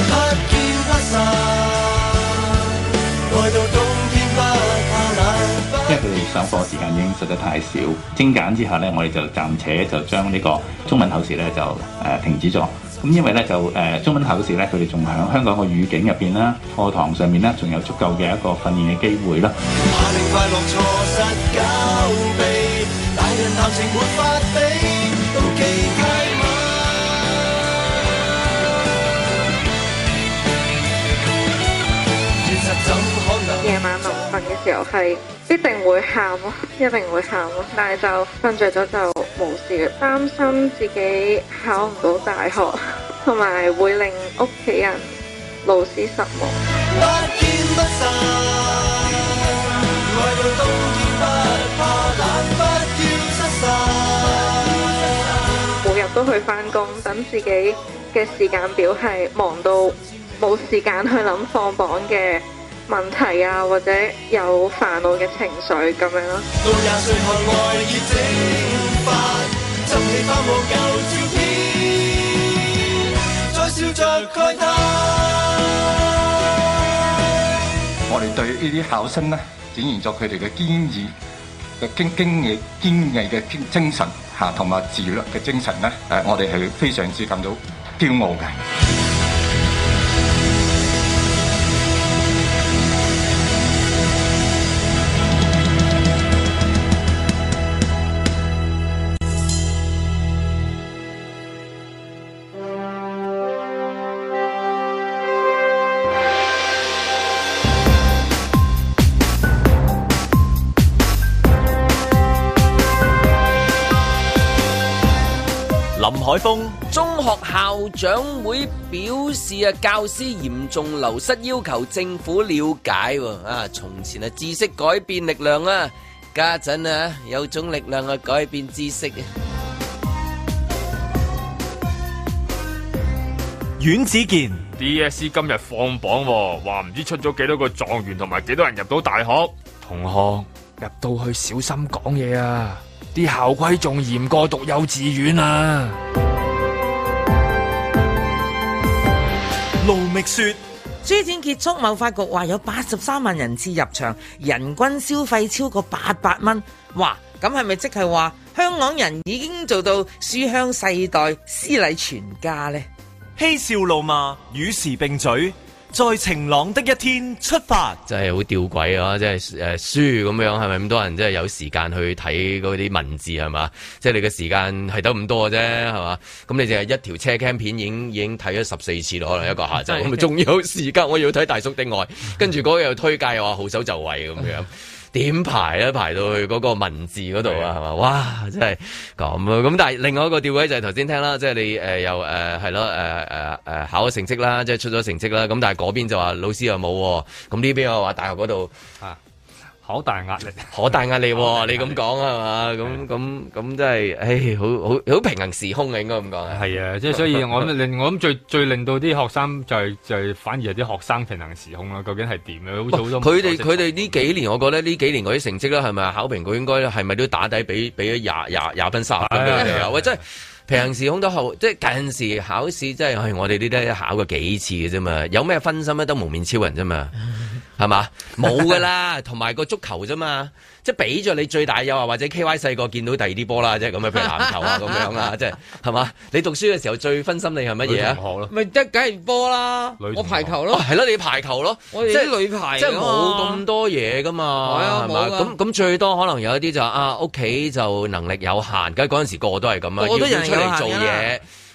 因為佢哋上課時間已經實在太少，精簡之下呢，我哋就暫且就將呢個中文考試呢就誒、呃、停止咗。咁因為呢，就誒、呃、中文考試呢，佢哋仲喺香港個語境入邊啦，課堂上面呢，仲有足夠嘅一個訓練嘅機會啦。 夜晚臨瞓嘅時候係必定會喊咯，一定會喊咯，但係就瞓着咗就冇事嘅。擔心自己考唔到大學，同埋會令屋企人、老師失望。每日都去返工，等自己嘅時間表係忙到冇時間去諗放榜嘅問題啊，或者有煩惱嘅情緒咁樣咯。 我哋對呢啲考生呢，展現咗佢哋嘅堅毅嘅經經毅堅毅嘅精神嚇，同埋自律嘅精神呢，誒，我哋係非常之感到驕傲嘅。 林海峰，中學校長會表示啊，教師嚴重流失，要求政府了解。啊，從前啊，知識改變力量啊，家陣啊，有種力量啊，改變知識啊。 阮子健 D S E 今日放榜，話唔知出咗幾多個狀元同埋幾多人入到大學。同學入到去小心講嘢啊！啲校規仲嚴過讀幼稚園啊！ 盧覓雪， 書展結束，貿發局話有八十三萬人次入場，人均消費超過八百蚊。哇！咁係咪即係話香港人已經做到書香世代、詩禮全家呢？ 嬉笑怒罵，與時並舉。在晴朗的一天出發， 真係好吊詭啊！即係誒書咁樣，係咪咁多人即係有時間去睇嗰啲文字係嘛？即係你嘅時間係得咁多嘅啫，係嘛？咁你淨係一條車 cam 片已經已經睇咗十四次咯，可能一個下晝咁啊，仲有時間我要睇大叔的愛，跟住嗰個又推介又話好手就位咁樣。點排咧？排到去嗰個文字嗰度啊，係嘛？哇！真係咁啊！咁但係另外一個吊詭就係頭先聽啦，即係你誒、呃、又誒係咯誒誒誒考咗成績啦，即係出咗成績啦。咁但係嗰邊就話老師又冇，咁呢邊又話大學嗰度啊。好大壓力， 好大壓力喎！你咁講係嘛？咁咁咁真係，唉，好好好平衡時空嘅應該咁講。 係啊，即係所以我諗令我諗最最令到啲學生就係就係反而係啲學生平衡時空啦。究竟係點咧？好似好多佢哋佢哋呢幾年，我覺得呢幾年嗰啲成績咧，係咪考評局應該係咪都打底俾俾咗廿廿廿分三十分俾佢哋啊？喂，真係平衡時空都好，即係近時考試真係我哋呢啲考過幾次嘅啫嘛，有咩分心咧都蒙面超人啫嘛。係嘛？冇噶啦，同埋個足球啫嘛，即係俾咗你最大誘惑，或者 K Y 細個見到第二啲波啦，即係咁樣，譬如籃球啊咁樣啦，即係係嘛？你讀書嘅時候最分心你係乜嘢啊？ 咪即係梗係波啦，我排球咯， 係咯、哦，你排球咯， 我哋啲女排， 即係冇咁多嘢噶嘛，係嘛？咁咁最多可能有一啲就啊屋企就能力有限，梗係嗰陣時個個都係咁啊，要出嚟做嘢。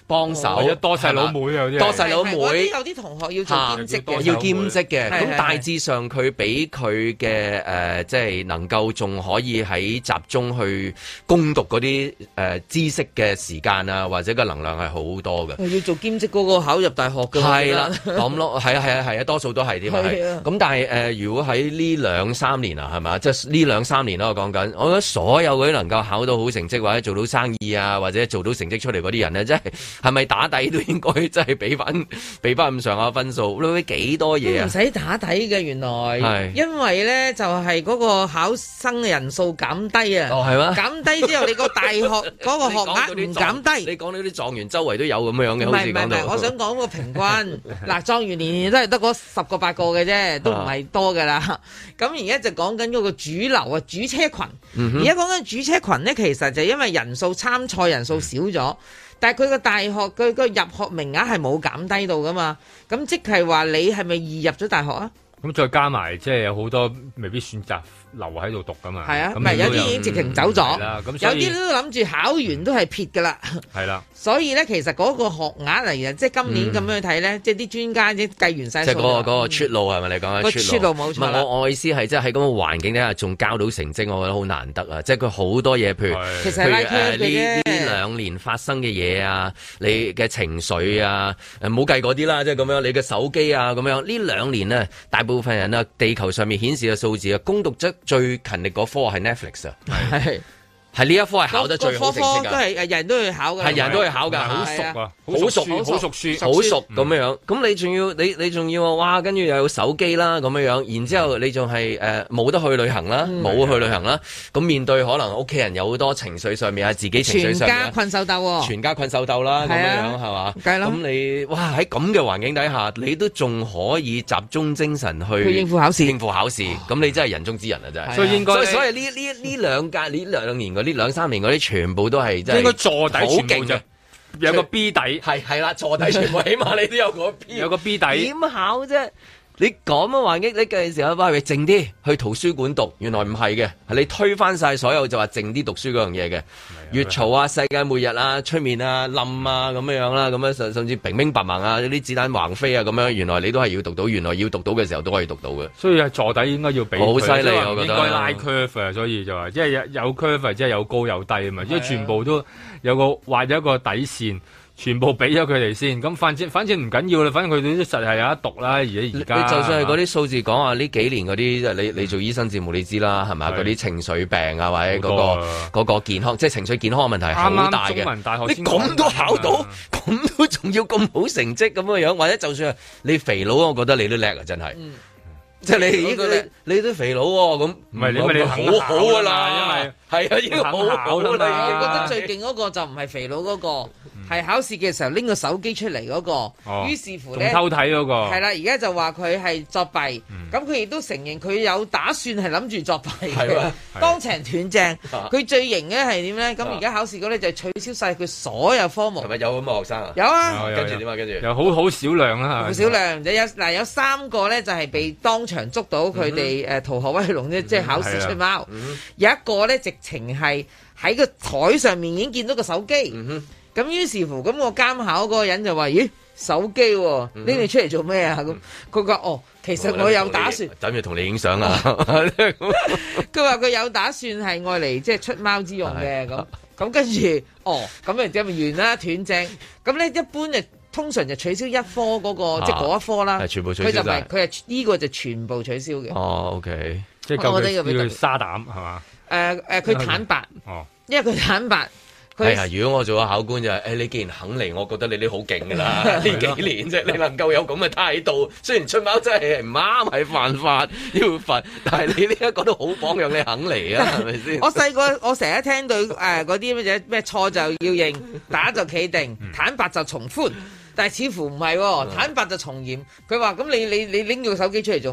幫手， 或者多細佬妹有啲， 多細佬妹， 有啲同學要做兼職嘅， 要兼職嘅。咁大致上佢俾佢嘅誒，即係能夠仲可以喺集中去攻讀嗰啲誒知識嘅時間啊，或者個能量係好多嘅。 要做兼職嗰個考入大學嘅， 係啦，咁咯，係啊係啊係啊，多數都係添啊。咁但係誒、呃，如果喺呢兩三年啊，係咪？即係呢兩三年啦，我講緊，我覺得所有嗰啲能夠考到好成績或者做到生意啊，或者做到成績出嚟嗰啲人咧，即係係咪打底都應該即係俾翻俾翻咁上下分數？你幾多嘢啊？ 唔使打底嘅，原來，因為咧就係、是、嗰個考生嘅人數減低啊。 哦，係咩？ 減低之後，你個大學嗰個學額唔減低。 你講到啲狀元周圍都有咁樣嘅， 唔係唔係唔係，我想講個平均。嗱，狀元年年都係得嗰十個八個嘅啫，都唔係多噶啦。咁而家就講緊嗰個主流啊，主車群。而家講緊主車群咧，其實就因為人數參賽人數少咗，嗯、但係佢個大學佢個入學名額係冇減低到噶嘛。咁即係話你係咪易入咗大學啊？咁再加埋即係有好多未必選擇留喺度讀噶嘛。 係啊，唔係有啲已經直情走咗，有啲都諗住考完都係撇噶啦。係啦，所以咧其實嗰個學額嚟嘅，即係今年咁樣去睇咧，嗯、即係啲專家即係計完晒數。即係嗰個嗰個出路係咪你講嘅出路冇錯？ 我我意思係即係喺咁嘅環境底下仲交到成績，我覺得好難得啊！即係佢好多嘢，譬如其實係誒呢呢兩年發生嘅嘢啊，你嘅情緒啊，誒唔好計嗰啲啦，即係咁樣，你嘅手機啊咁樣，呢兩年呢，大部分人啊，地球上面顯示嘅數字啊，攻讀咗最勤力嗰科係 Netflix 啊，係係呢一科係考得最好成績㗎， 科科都係誒人都去考㗎， 係人都去考㗎， 好熟啊， 好熟好熟書， 好熟咁樣樣。咁你仲要你你仲要哇，跟住又有手機啦咁樣樣，然之後你仲係誒冇得去旅行啦，冇去旅行啦。咁面對可能屋企人有好多情緒上面啊，自己情緒上面， 全家困獸鬥， 全家困獸鬥啦咁樣樣係嘛？咁你哇喺咁嘅環境底下，你都仲可以集中精神去應付考試， 應付考試。咁你真係人中之人啊！真係。 所以應該， 所以呢呢呢兩屆呢兩年嗰啲兩三年嗰啲。全部都係真係應該坐底全部就有個 B 底， 係係啦，坐底全部起碼你都有個 B， 有個 B 底。 點考啫？你咁嘅環境，你嘅時候話喂靜啲去圖書館讀，原來唔係嘅，係你推翻晒所有就話靜啲讀書嗰樣嘢嘅，越嘈啊，世界末日啊，出面啊冧啊咁樣樣啦，咁樣甚甚至平平白白啊，啲子彈橫飛啊咁樣，原來你都係要讀到，原來要讀到嘅時候都可以讀到嘅。 所以係坐底應該要俾好犀利，我覺得應該拉 curve 啊，所以就話即係有有 curve，即係有高有低啊嘛，即係全部都有個畫咗一個底線。全部俾咗佢哋先，咁反正反正唔緊要啦，反正佢哋都實係有得讀啦。而家而家， 你就算係嗰啲數字講話呢幾年嗰啲，你你做醫生節目你知啦，係咪？嗰啲情緒病啊，或者嗰個嗰個健康，即係情緒健康嘅問題好大嘅。 中文大學你咁都考到，咁都仲要咁好成績咁嘅樣，或者就算係你肥佬，我覺得你都叻啊，真係。即係你呢個你你都肥佬喎，咁唔係你咪你好好噶啦，因為係啊，已經好好啦。 我覺得最勁嗰個就唔係肥佬嗰個，係考試嘅時候拎個手機出嚟嗰個。於是乎咧， 偷睇嗰個係啦，而家就話佢係作弊，咁佢亦都承認佢有打算係諗住作弊嘅，當場斷正。佢最型嘅係點咧？咁而家考試嗰咧就取消晒佢所有科目。 係咪有咁嘅學生啊？ 有啊， 跟住點啊？跟住又好好少量啦， 好少量。有嗱有三個咧就係被當場捉到佢哋誒逃學威龍啫，即係考試出貓。有一個咧直情係喺個台上面已經見到個手機。咁於是乎，咁個監考嗰個人就話：咦，手機喎，拎你出嚟做咩啊？咁佢話：哦，其實我有打算， 等住同你影相啊。 佢話佢有打算係愛嚟即係出貓之用嘅。咁咁跟住，哦，咁咪即係完啦，斷正。咁咧一般就通常就取消一科嗰個，即係嗰一科啦。 全部取消。 佢就唔係，佢係呢個就全部取消嘅。 哦，OK， 即係夠佢要沙膽係嘛？ 誒誒，佢坦白。哦，因為佢坦白。 係啊！如果我做個考官就係，誒你既然肯嚟，我覺得你都好勁㗎啦！呢幾年啫，你能夠有咁嘅態度，雖然出貓真係唔啱，係犯法要罰，但係你呢一個都好榜樣，你肯嚟啊，係咪先？ 我細個我成日聽到誒嗰啲乜嘢咩錯就要認，打就企定，坦白就從寬，但係似乎唔係喎，坦白就從嚴。佢話咁你你你拎個手機出嚟做乜？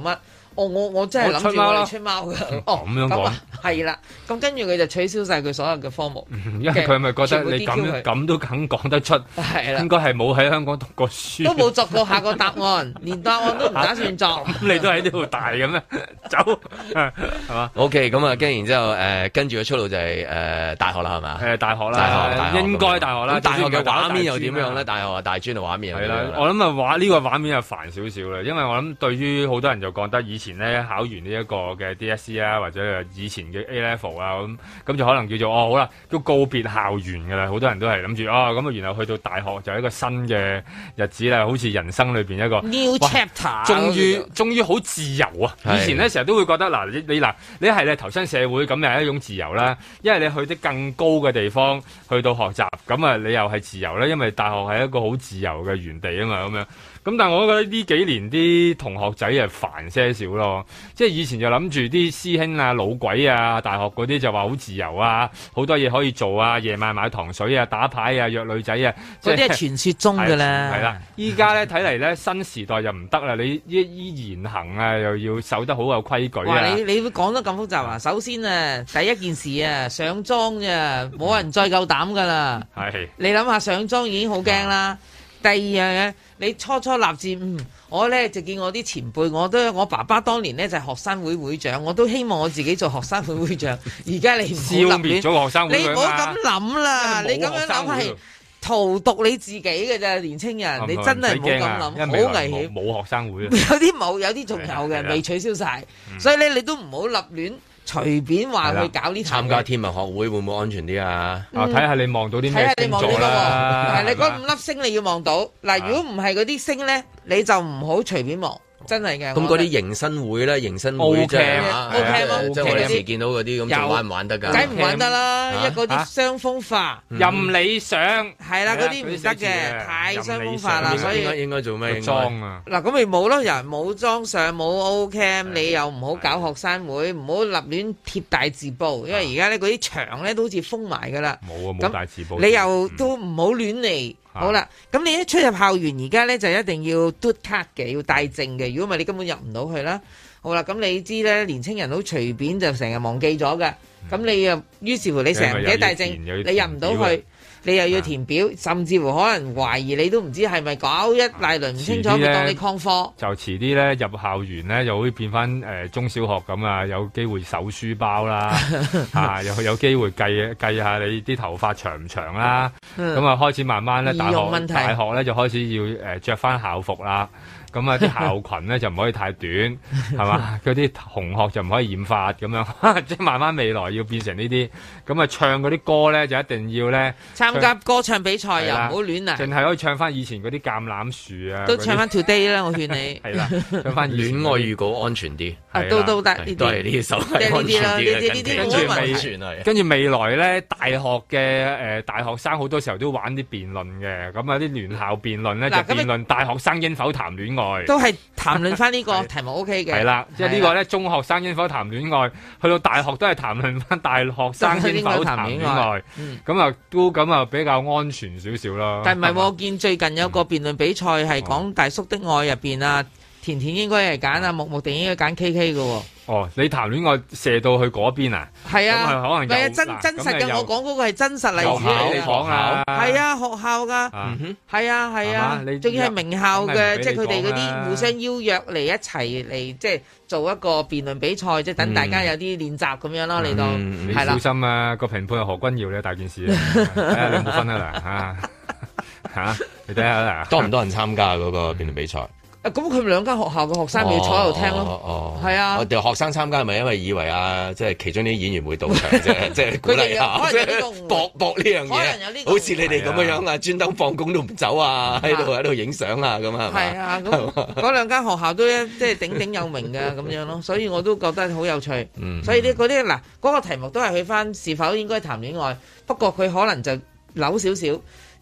哦，我我真係諗住我哋出貓㗎。哦， 咁樣講係啦。咁跟住佢就取消晒佢所有嘅科目， 因為佢係咪覺得你咁咁都肯講得出？係啦，應該係冇喺香港讀過書， 都冇作過下個答案，連答案都唔打算作。 咁你都喺呢度大嘅咩？走係嘛 ？OK，咁啊，跟然之後誒，跟住嘅出路就係誒大學啦，係嘛？ 誒大學啦，應該大學啦。 大學嘅畫面又點樣咧？大學啊，大專嘅畫面係啦。我諗啊，畫呢個畫面又煩少少啦，因為我諗對於好多人就覺得以前咧考完呢一個嘅 D S E 啊，或者以前嘅 A Level 啊，咁咁就可能叫做哦好啦，都告別校園㗎啦。好多人都係諗住哦咁啊，然後去到大學就係一個新嘅日子啦，好似人生裏邊一個 New Chapter， 終於終於好自由啊！以前咧成日都會覺得嗱，你你嗱你係咧投身社會咁又係一種自由啦，因為你去啲更高嘅地方去到學習，咁啊你又係自由啦，因為大學係一個好自由嘅園地啊嘛，咁樣。咁但係我覺得呢幾年啲同學仔係煩些少咯，即係以前就諗住啲師兄啊、老鬼啊、大學嗰啲就話好自由啊，好多嘢可以做啊，夜晚買糖水啊、打牌啊、約女仔啊， 嗰啲係傳說中㗎啦。 係啦，依家咧睇嚟咧新時代就唔得啦，你依依言行啊又要守得好有規矩啊。 你你會講得咁複雜啊？首先啊，第一件事啊，上妝咋，冇人再夠膽㗎啦。係。你諗下上妝已經好驚啦。第二樣嘢，你初初立志，嗯，我咧就見我啲前輩，我都我爸爸當年咧就係學生會會長，我都希望我自己做學生會會長。而家你唔好消滅咗學生會， 你唔好咁諗啦，你咁樣諗係荼毒你自己嘅啫，年青人，你真係唔好咁諗，好危險。 冇學生會， 有啲冇，有啲仲有嘅，未取消晒，所以咧你都唔好立亂。隨便話去搞呢？ 參加天文學會會唔會安全啲啊？ 啊，睇下你望到啲咩星座啦。 係你嗰五粒星你要望到。嗱，如果唔係嗰啲星咧，你就唔好隨便望。真係嘅。 咁嗰啲迎新會咧，迎新會即係即係我哋時見到嗰啲咁，仲玩唔玩得㗎？ 梗唔玩得啦！一嗰啲傷風化、 任你上， 係啦，嗰啲唔得嘅，太傷風化啦。所以應該應該做咩？ 裝啊！ 嗱，咁咪冇咯，人冇裝上冇 O Cam，你又唔好搞學生會，唔好立亂貼大字報，因為而家咧嗰啲牆咧都好似封埋㗎啦。 冇啊，冇大字報。 你又都唔好亂嚟。好啦，咁你一出入校園而家咧就一定要嘟卡嘅，要帶證嘅。如果唔係你根本入唔到去啦。好啦，咁你知咧，年青人好隨便就成日忘記咗嘅。咁你又於是乎你成日唔記得帶證，你入唔到去。你又要填表，甚至乎可能懷疑你都唔知係咪搞一大輪唔清楚，佢當你曠課。 就遲啲咧入校園咧，就會變翻誒、呃、中小學咁啊，有機會搜書包啦，啊又有機會計計下你啲頭髮長唔長啦，咁啊開始慢慢咧大學大學咧就開始要誒著翻校服啦。咁啊，啲校裙咧就唔可以太短，係嘛？嗰啲同學就唔可以染髮咁樣，即係慢慢未來要變成呢啲。咁啊，唱嗰啲歌咧就一定要咧參加歌唱比賽又唔好亂嚟， 淨係可以唱翻以前嗰啲橄欖樹啊， 都唱翻 Today 啦，我勸你係啦，唱翻戀愛預告安全啲， 都都得呢啲， 都係呢啲手係安全啲嘅。 跟住未，跟住未來咧，大學嘅誒大學生好多時候都玩啲辯論嘅，咁啊啲聯校辯論咧就辯論大學生應否談戀愛。 都係談論翻呢個題目 O K 嘅， 係啦，即係呢個咧中學生應否談戀愛，去到大學都係談論翻大學生應否談戀愛，咁啊都咁啊比較安全少少咯。 但係唔係，我見最近有個辯論比賽係講大叔的愛入邊啊，甜甜應該係揀啊，木木定應該揀 K K 嘅。 哦，你談戀愛射到去嗰邊啊？ 係啊， 可能係啊，真真實嘅。我講嗰個係真實例子嚟嘅。講啊， 係啊，學校噶，係啊係啊，仲要係名校嘅，即係佢哋嗰啲互相邀約嚟一齊嚟，即係做一個辯論比賽，即係等大家有啲練習咁樣咯。你當係啦， 你小心啊！個評判係何君堯咧，大件事啊！睇下你有冇分啊嗱嚇嚇，你睇下啦， 多唔多人參加嗰個辯論比賽？ 咁佢哋兩間學校嘅學生咪要坐喺度聽咯，係啊。 我哋學生參加係咪因為以為啊，即係其中啲演員會到場啫，即係鼓勵下，即係搏搏呢樣嘢。好似你哋咁樣樣啊，專登放工都唔走啊，喺度喺度影相啊，咁啊， 係啊，咁嗰兩間學校都即係鼎鼎有名嘅咁樣咯，所以我都覺得好有趣。所以啲嗰啲嗱，嗰個題目都係去翻是否應該談戀愛，不過佢可能就扭少少，就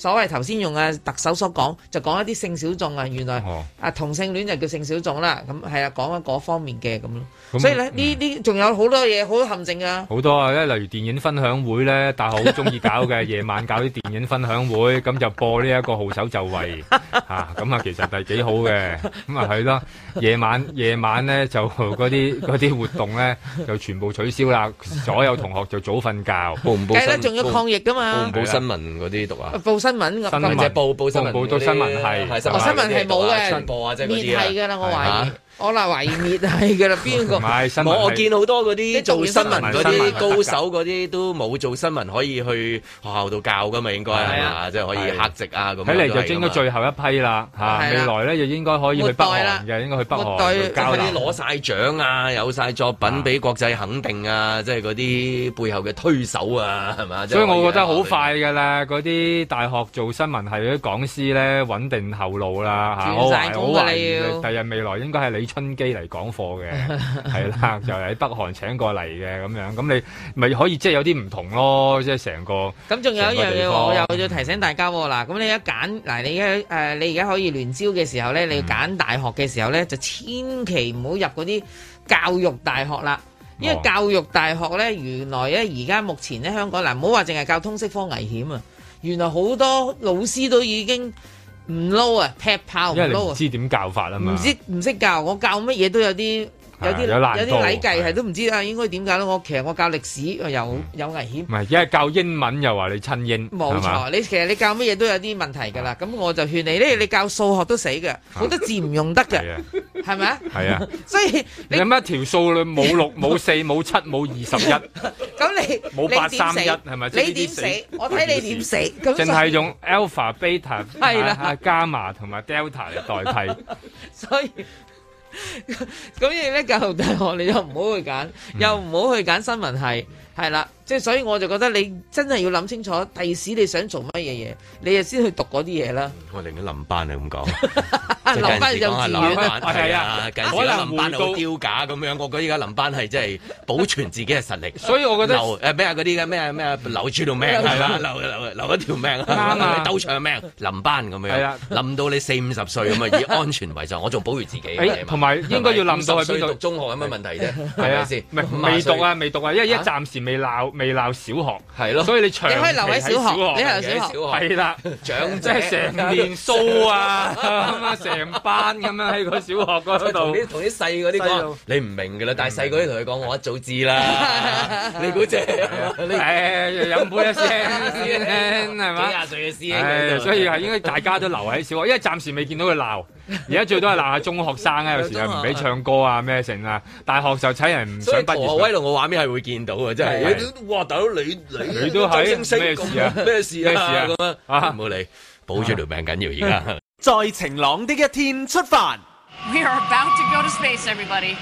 所謂頭先用啊特首所講，就講一啲性小眾啊，原來、哦、啊同性戀就叫性小眾啦，咁係啊講緊嗰方面嘅咁咯。所以咧呢啲仲有好多嘢，好多陷阱啊！好多啊，例如電影分享會咧，大學好中意搞嘅，夜晚搞啲電影分享會，咁就播呢一個號手就位嚇，咁啊其實係幾好嘅，咁啊係咯，夜晚夜晚咧就嗰啲嗰啲活動咧就全部取消啦，所有同學就早瞓覺。報唔報新聞？仲要抗疫噶嘛？報唔報新聞嗰啲讀啊？報新聞，新聞即係報報新聞，報到新聞係，哦新聞係冇嘅，播啊即係嗰啲啊，滅係㗎啦，我懷疑。我嗱懷疑滅係㗎啦，邊個？我我見好多嗰啲做新聞嗰啲高手嗰啲都冇做新聞可以去學校度教㗎嘛，應該係嘛？即係可以客席啊咁。睇嚟就應該最後一批啦嚇，未來咧就應該可以去北韓嘅，應該去北韓教啲攞晒獎啊，有晒作品俾國際肯定啊，即係嗰啲背後嘅推手啊，係嘛？所以我覺得好快㗎啦，嗰啲大學做新聞係嗰啲講師咧穩定後路啦嚇，我懷我懷疑第日未來應該係李春基嚟講課嘅，係啦，就喺北韓請過嚟嘅咁樣，咁你咪可以即係有啲唔同咯，即係成個。咁仲有一樣嘢，我又要提醒大家喎，嗱，咁你一揀嗱，你而家誒，你而家可以聯招嘅時候咧，你要揀大學嘅時候咧，就千祈唔好入嗰啲教育大學啦，因為教育大學咧，原來咧而家目前咧香港嗱，唔好話淨係教通識科危險啊，原來好多老師都已經。唔撈啊，劈炮唔撈啊！因為你唔知點教法啊嘛，唔知唔識教，我教乜嘢都有啲有啲有啲禮計係都唔知啊，應該點教咧？我其實我教歷史又有危險，唔係，因為教英文又話你親英，冇錯。你其實你教乜嘢都有啲問題㗎啦。咁我就勸你咧，你教數學都死嘅，好多字唔用得嘅，係咪啊？係啊，所以你有乜條數你冇六冇四冇七冇二十一，咁你冇八三一係咪？你點死？我睇你點死。咁淨係用 alpha、beta 係啦、伽馬同埋 delta 嚟代替，所以。咁你咧教育大學你又唔好去揀，又唔好去揀新聞系，係啦，即係所以我就覺得你真係要諗清楚，第時你想做乜嘢嘢，你就先去讀嗰啲嘢啦。我寧願臨班係咁講，臨班就自願啦，係啊，近時臨班好丟架咁樣，我覺得依家臨班係真係保存自己嘅實力。所以我覺得留誒咩啊嗰啲嘅咩咩留住條命係啦，留留留一條命啊，鬥長命臨班咁樣，臨到你四五十歲咁啊，以安全為上，我仲保住自己。同埋應該要臨到去邊度讀中學有乜問題啫？係咪先？未讀啊，未讀啊，因為一暫時未鬧未鬧小學，係咯，所以你長期喺小學，你係小學，係啦，長即係成年蘇啊，咁啊成班咁樣喺個小學嗰度，同啲同啲細嗰啲講，你唔明㗎啦，但係細嗰啲同佢講，我一早知啦，你估啫？誒飲杯一聲係嘛？幾廿歲嘅師兄，所以係應該大家都留喺小學，因為暫時未見到佢鬧，而家最多係鬧下中學生啊，有時又唔俾唱歌啊咩成啊，大學就睇人唔想畢業。所以威龍嘅畫面係會見到嘅，真係。哇！大佬你你你都係咩事啊？咩事啊？咁樣啊！唔好理，保住條命緊要而家。在晴朗的一天出發。We are about to go to space, everybody.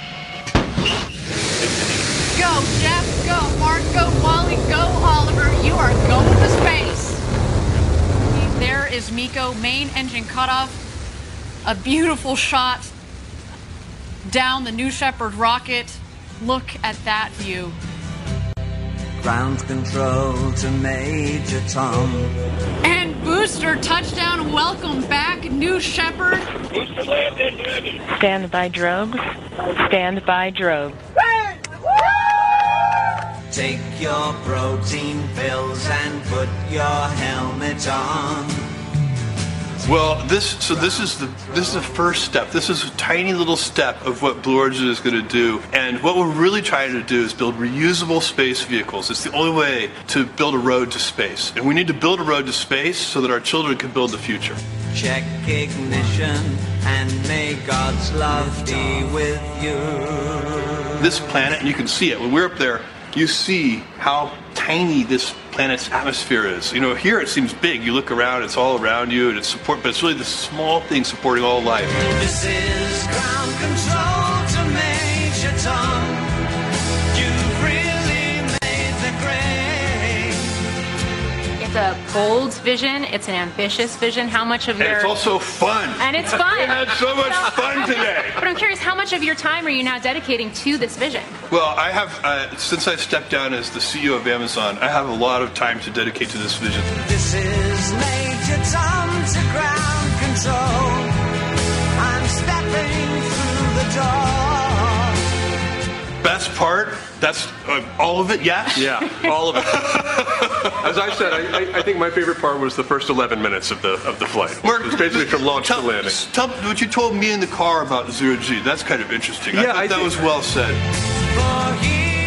Go, Jeff. Go, Mark. Go, Wally. Go, Oliver. You are going to space. There is Miko. Main engine cut off. A beautiful shot down the New Shepard rocket. Look at that view. Ground control to Major Tom. And booster touchdown. Welcome back, New Shepard. Stand by drogues. Stand by drogues. Take your protein pills and put your helmet on. Well, this so this is the this is the first step. This is a tiny little step of what Blue Origin is going to do. And what we're really trying to do is build reusable space vehicles. It's the only way to build a road to space. And we need to build a road to space so that our children can build the future. Check ignition and may God's love be with you. This planet, and you can see it when we're up there, you see how tiny this planet's atmosphere is. You know, here it seems big. You look around, it's all around you, and it's support, but it's really the small thing supporting all life. This is ground control to Major Tom. You've really made the grade. It's a bold vision. It's an ambitious vision. How much of your... And it's also fun. And it's fun. We had so much fun today. But I'm curious, how much much of your time are you now dedicating to this vision? Well, I have, uh, since I stepped down as the C E O of Amazon, I have a lot of time to dedicate to this vision. This is Major Tom to ground control. I'm stepping through the door. Best part, that's uh, all of it, yes? Yeah, all of it. As I said, I, I think my favorite part was the first eleven minutes of the of the flight. Mark, it was basically from launch tell, to landing. Tell what you told me in the car about zero G. That's kind of interesting. Yeah, I thought I that think, was well said. For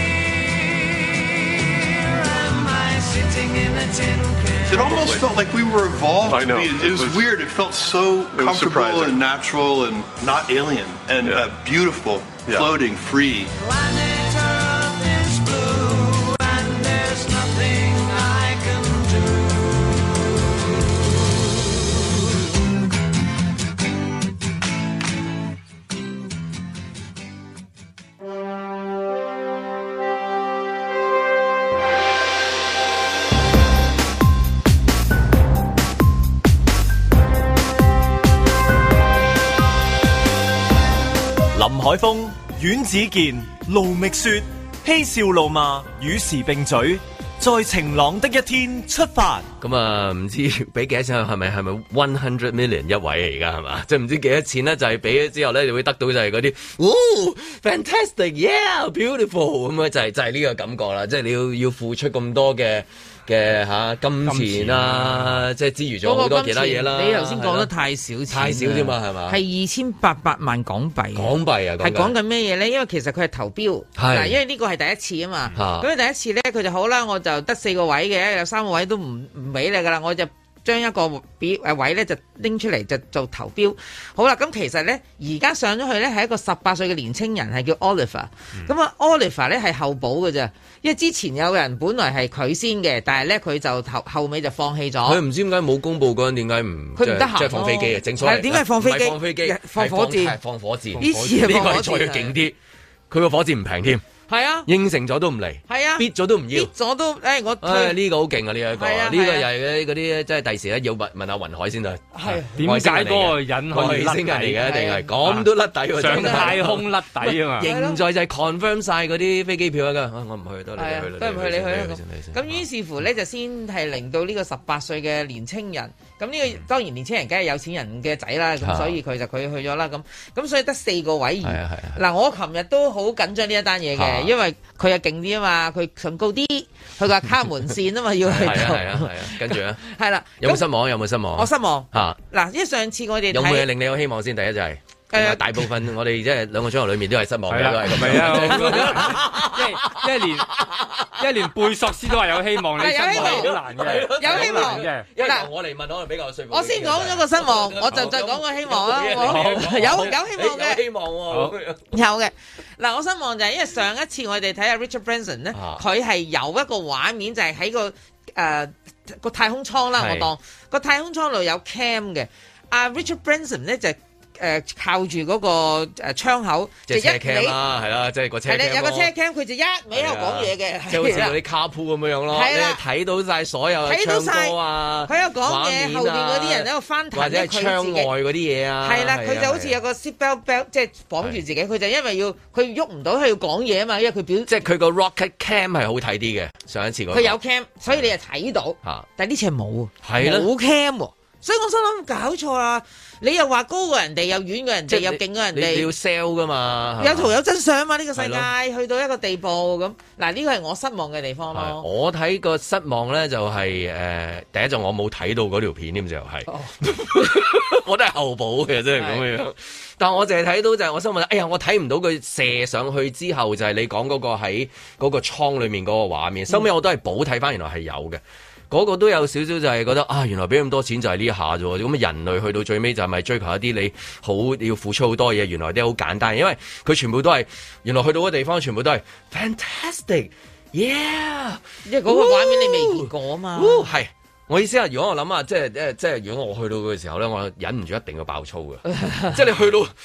here am I sitting in a tin can. It almost felt like we were evolved. I know. To be, it, it was, was weird. It felt so it comfortable and natural and not alien and yeah. uh, beautiful, yeah. floating, free. Planet Earth is blue and there's nothing I can 林海峰、阮子健、盧覓雪，嬉笑怒罵，與時並舉，在晴朗的一天出發。 咁啊，唔知俾幾多錢？係咪係咪 one hundred million 一位而家係嘛？即係唔知幾多錢咧？就係俾咗之後咧，你會得到就係嗰啲，哦 ，fantastic，yeah，beautiful 咁啊，就係就係呢個感覺啦。即係你要要付出咁多嘅。嘅嚇金錢啦，即係之餘仲有好多其他嘢啦。 你頭先講得太少錢， 太少添嘛，係嘛？ 係二千八百萬港幣。 港幣啊， 係講緊咩嘢咧？因為其實佢係投標，嗱，因為呢個係第一次啊嘛。咁第一次咧，佢就好啦，我就得四個位嘅，有三個位都唔唔俾你噶啦，我就將一個表誒位咧就拎出嚟就做投標。好啦，咁其實咧而家上咗去咧係一個十八歲嘅年青人，係叫 Oliver。咁啊 Oliver 咧係候補嘅啫。因為之前有人本來係佢先嘅，但係咧佢就後後尾就放棄咗。 佢唔知點解冇公佈嗰陣，點解唔佢唔得閒？ 即係放飛機啊！正所謂點解放飛機？ 放飛機， 放火箭， 放火箭。 呢次係放火箭， 呢個係再勁啲。佢個火箭唔平添。係啊，應承咗都唔嚟， 係啊， 逼咗都唔要， 逼咗都，誒我， 誒呢個好勁啊！呢一個，呢個又係嗰啲即係第時咧要問問下雲海先得。 係點解嗰個人可以外星人嚟嘅？一定係咁都甩底喎， 上太空甩底啊嘛！ 現在就係 confirm 晒嗰啲飛機票啊！我唔去，得你去啦， 都唔去你去啦。咁於是乎咧就先係令到呢個十八歲嘅年青人，咁呢個當然年青人梗係有錢人嘅仔啦，咁所以佢就佢去咗啦。咁咁所以得四個位。嗱，我琴日都好緊張呢一單嘢嘅，因為佢勁啲啊嘛，佢上高啲，佢個卡門線啊嘛，要去到。係啊係啊係啊，跟住咧。係啦。有冇失望？有冇失望？我失望。嚇！嗱，因為上次我哋有冇嘢令你有希望先？第一就係。誒，大部分我哋即係兩個鐘頭裏面都係失望嘅，都係咁樣。 即係一年一年貝索斯都話有希望，你失望好難嘅， 有希望嘅。嗱，我嚟問可能比較說服。 我先講咗個失望，我就再講個希望啦。有有希望嘅， 希望喎， 有嘅。嗱，我失望就係因為上一次我哋睇下 Richard Branson 咧，佢係有一個畫面就係喺個誒個太空艙啦，我當個太空艙度有 cam 嘅。阿 Richard Branson 咧就。誒靠住嗰個誒窗口， 就一尾啦，係啦，即係個車 cam。係啦， 有個車 cam，佢就一味喺度講嘢嘅， 即係好似嗰啲卡鋪咁樣樣咯。係啦，睇到晒所有嘅唱歌啊， 佢有講嘢，後邊嗰啲人喺度翻騰， 或者係窗外嗰啲嘢啊。 係啦，佢就好似有個 seat belt belt，即係綁住自己。佢就因為要佢喐唔到，佢要講嘢啊嘛，因為佢表即係佢個 rocket cam 係好睇啲嘅。上一次嗰個佢有 cam，所以你係睇到。但係呢次係冇， 係冇 cam 喎。所以我心諗搞錯啦！你又話高過人哋，又遠過人哋，又勁過人哋， 你要 sell 噶嘛？ 有圖有真相嘛？呢個世界去到一個地步咁，嗱呢個係我失望嘅地方咯。 我睇個失望咧就係誒，第一就我冇睇到嗰條片添，就係我都係後補嘅，真係咁樣。但我淨係睇到就係我心諗，哎呀，我睇唔到佢射上去之後就係你講嗰個喺嗰個倉裡面嗰個畫面。收尾我都係補睇翻，原來係有嘅。嗰個都有少少就係覺得啊，原來俾咁多錢就係呢下啫喎，咁人類去到最尾就係咪追求一啲你好要付出好多嘢，原來啲好簡單，因為佢全部都係原來去到個地方全部都係 fantastic，yeah， 因為嗰個畫面你未見過啊嘛。 係，我意思係如果我諗下，即係即係如果我去到嘅時候咧，我忍唔住一定要爆粗嘅，即係你去到。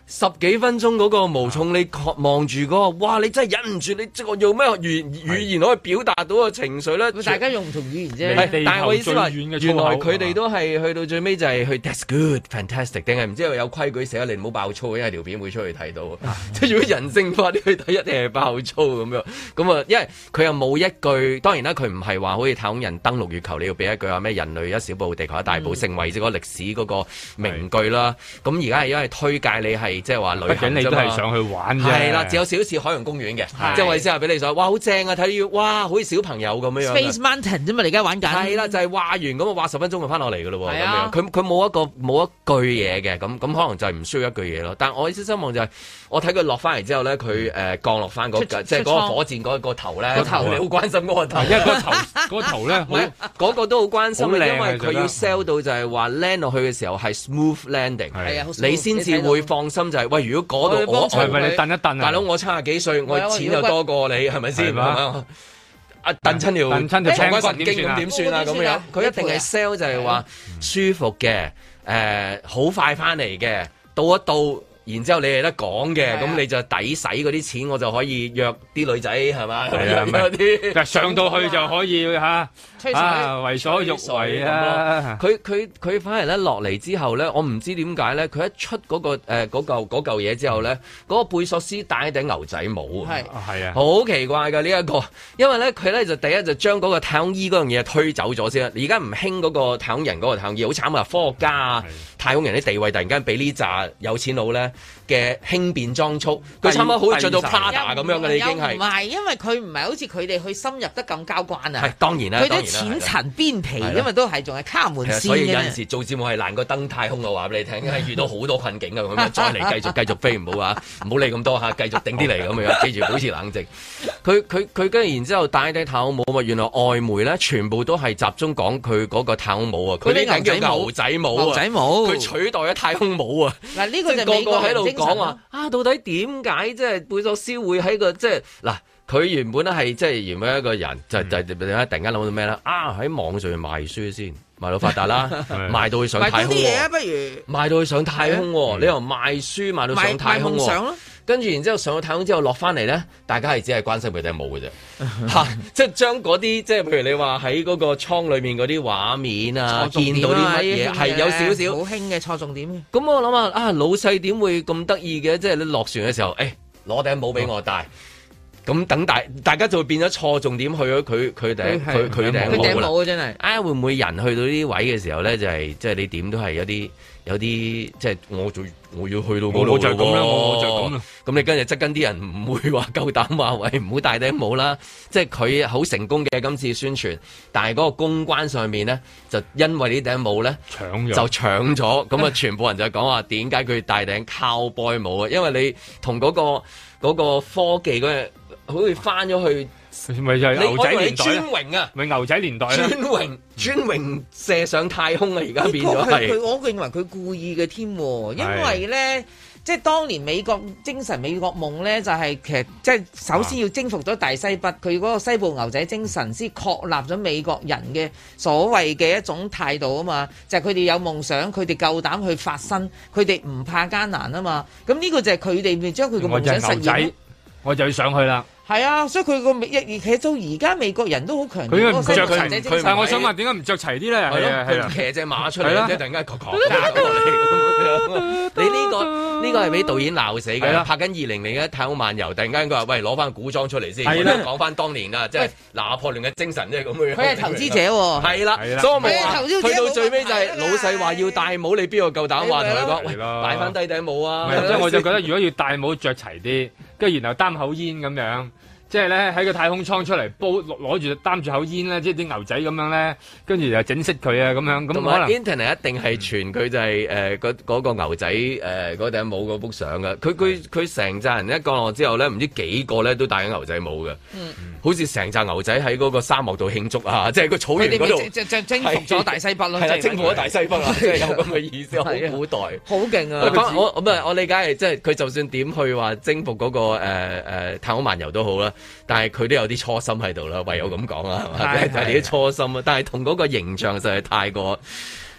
十幾分鐘嗰個無重，你望住嗰個，哇！你真係忍唔住，你即係用咩語語言可以表達到個情緒咧？ 大家用唔同語言啫。 但係我意思話，原來佢哋都係去到最尾就係去 That's good, fantastic， 定係唔知有有規矩寫你唔好爆粗，因為條片會出去睇到。即係如果人性化啲去睇，一定係爆粗咁樣。咁啊，因為佢又冇一句，當然啦，佢唔係話好似太空人登陸月球，你要俾一句話咩人類一小步地球一大步，成為咗個歷史嗰個名句啦。咁而家係因為推介你係。即係話旅行，你都係上去玩啫。係啦，只有少少似海洋公園嘅，即係我意思係俾你想，哇，好正啊！睇到哇，好似小朋友咁樣樣。Space Mountain 啫嘛，你而家玩緊。係啦， 就係、是、話完咁啊，話十分鐘就翻落嚟㗎咯喎。係啊，佢佢冇一個冇一句嘢嘅，咁咁可能就係唔需要一句嘢咯。但係我意思希望就係、是，我睇佢落翻嚟之後咧，佢誒、呃、降落翻嗰即係嗰個火箭嗰個頭咧，個頭你好關心嗰個頭，因為個頭嗰個頭咧，嗰、那個都好關心，因為佢要 sell 到就係話 land 落去嘅時候係 smooth landing， 係啊，你先至會放心就係、是、喂，如果嗰度我係咪你蹬一蹬啊？大佬我七十幾歲，我錢又多過你，係咪先？啊，蹬親條蹬親條長骨神經咁點算啊？咁樣佢一定係 sell 就係話舒服嘅，誒好快翻嚟嘅，到一到。然之後你係得講嘅，咁、啊、你就抵使嗰啲錢，我就可以約啲女仔係嘛？係啊，嗰啲上到去就可以嚇，啊為所欲為啊！佢佢佢反而咧落嚟之後咧，我唔知點解咧，佢一出嗰、那個誒嗰嚿嗰嚿嘢之後咧，嗰、那個貝索斯戴一頂牛仔帽，係係啊，好奇怪㗎呢一個，因為咧佢咧就第一就將嗰個太空衣嗰樣嘢推走咗先啦。而家唔興嗰個太空人嗰個太空衣，好慘啊！科學家啊，太空人啲地位突然間俾呢扎有錢佬咧嘅輕便裝束，佢差唔多好似着到 Prada 咁樣嘅，已經係唔係？因為佢唔係好似佢哋去深入得咁交關啊。 係當然啦， 佢啲淺層邊皮，因為都係仲係卡門線嘅。 所以有陣時做節目係難過登太空嘅話俾你聽，因為遇到好多困境嘅咁樣，再嚟繼續繼續飛，唔好啊，唔好理咁多嚇，繼續定啲嚟咁樣，記住保持冷靜。佢佢佢跟住然之後戴低太空帽啊！原來外媒咧全部都係集中講佢嗰個太空帽啊，佢呢頂叫牛仔帽啊，牛仔帽，佢取代咗太空帽啊。嗱呢個就美國喺度講話啊，到底點解即係貝索斯會喺個即係嗱？佢原本咧係即係原本一個人，就就突然間諗到咩咧？啊喺網上面賣書先，賣到發達啦，賣到去上太空。賣啲嘢啊，不如賣到去上太空。你由賣書賣到上太空。賣夢想咯。跟住然之後上咗太空之後落翻嚟咧，大家係只係關心佢哋冇嘅啫，嚇！即係將嗰啲即係譬如你話喺嗰個倉裏面嗰啲畫面啊，見到啲乜嘢係有少少好興嘅錯重點。 咁我諗下啊，老細點會咁得意嘅？即係你落船嘅時候，誒攞頂帽俾我戴。咁等大大家就會變咗錯重點去咗佢佢頂佢佢頂帽啦，真係啊！會唔會人去到呢啲位嘅時候咧，就係即係你點都係有啲有啲即係我做我要去到嗰度，我就係咁啦，我就咁啦。咁你跟住側跟啲人唔會話夠膽話喂唔好戴頂帽啦。即係佢好成功嘅今次宣傳，但係嗰個公關上面咧就因為呢頂帽咧搶咗就搶咗，咁啊全部人就講話點解佢戴頂 cowboy 帽啊？因為你同嗰個嗰個科技嗰樣。好似翻咗去，咪就係牛仔年代專榮啊！咪牛仔年代專榮專榮射上太空啊！而家變咗係， 佢我認為佢故意嘅添，因為咧，即係當年美國精神美國夢咧，就係、是、其實即係首先要征服咗大西北，佢嗰個西部牛仔精神先確立咗美國人嘅所謂嘅一種態度啊嘛，就係佢哋有夢想，佢哋夠膽去發生，佢哋唔怕艱難啊嘛，咁呢個就係佢哋咪將佢個夢想實現。 我就要上去啦。 係啊，所以佢個美其實到而家美國人都好強調。 佢應該唔着齊，但係我想問點解唔着齊啲咧？係啊係啊， 騎隻馬出嚟，即係突然間狂狂打過嚟。你呢個呢個係俾導演鬧死嘅，拍緊二零零一太空漫遊，突然間佢話喂攞翻古裝出嚟先，講翻當年啊，即係拿破崙嘅精神，即係咁樣。佢係投資者喎。係啦，所以我咪話去到最尾就係老細話要戴帽，你邊個夠膽話同佢講？喂，戴翻低頂帽啊！ 即係我就覺得如果要戴帽着齊啲。跟住然後擔口煙咁樣，即係咧喺個太空艙出嚟煲攞住擔住口煙咧，即係啲牛仔咁樣咧，跟住又整熄佢啊咁樣，咁可能 Internet 一定係傳佢就係誒嗰嗰個牛仔誒嗰頂帽嗰幅相嘅，佢佢佢成扎人一降落之後咧，唔知幾個咧都戴緊牛仔帽嘅，嗯、好似成扎牛仔喺嗰個沙漠度慶祝啊，即係個草原嗰度， 即係征服咗大西北咯， 係啦，征服咗大西北啊，即係有咁嘅意思，好古代，好勁啊！我我唔係我理解係即係佢就算點去話征服嗰個誒誒太空漫遊都好啦，但係佢都有啲初心喺度啦，唯有咁講啦，係嘛？就係啲初心啊！但係同嗰個形象實係太過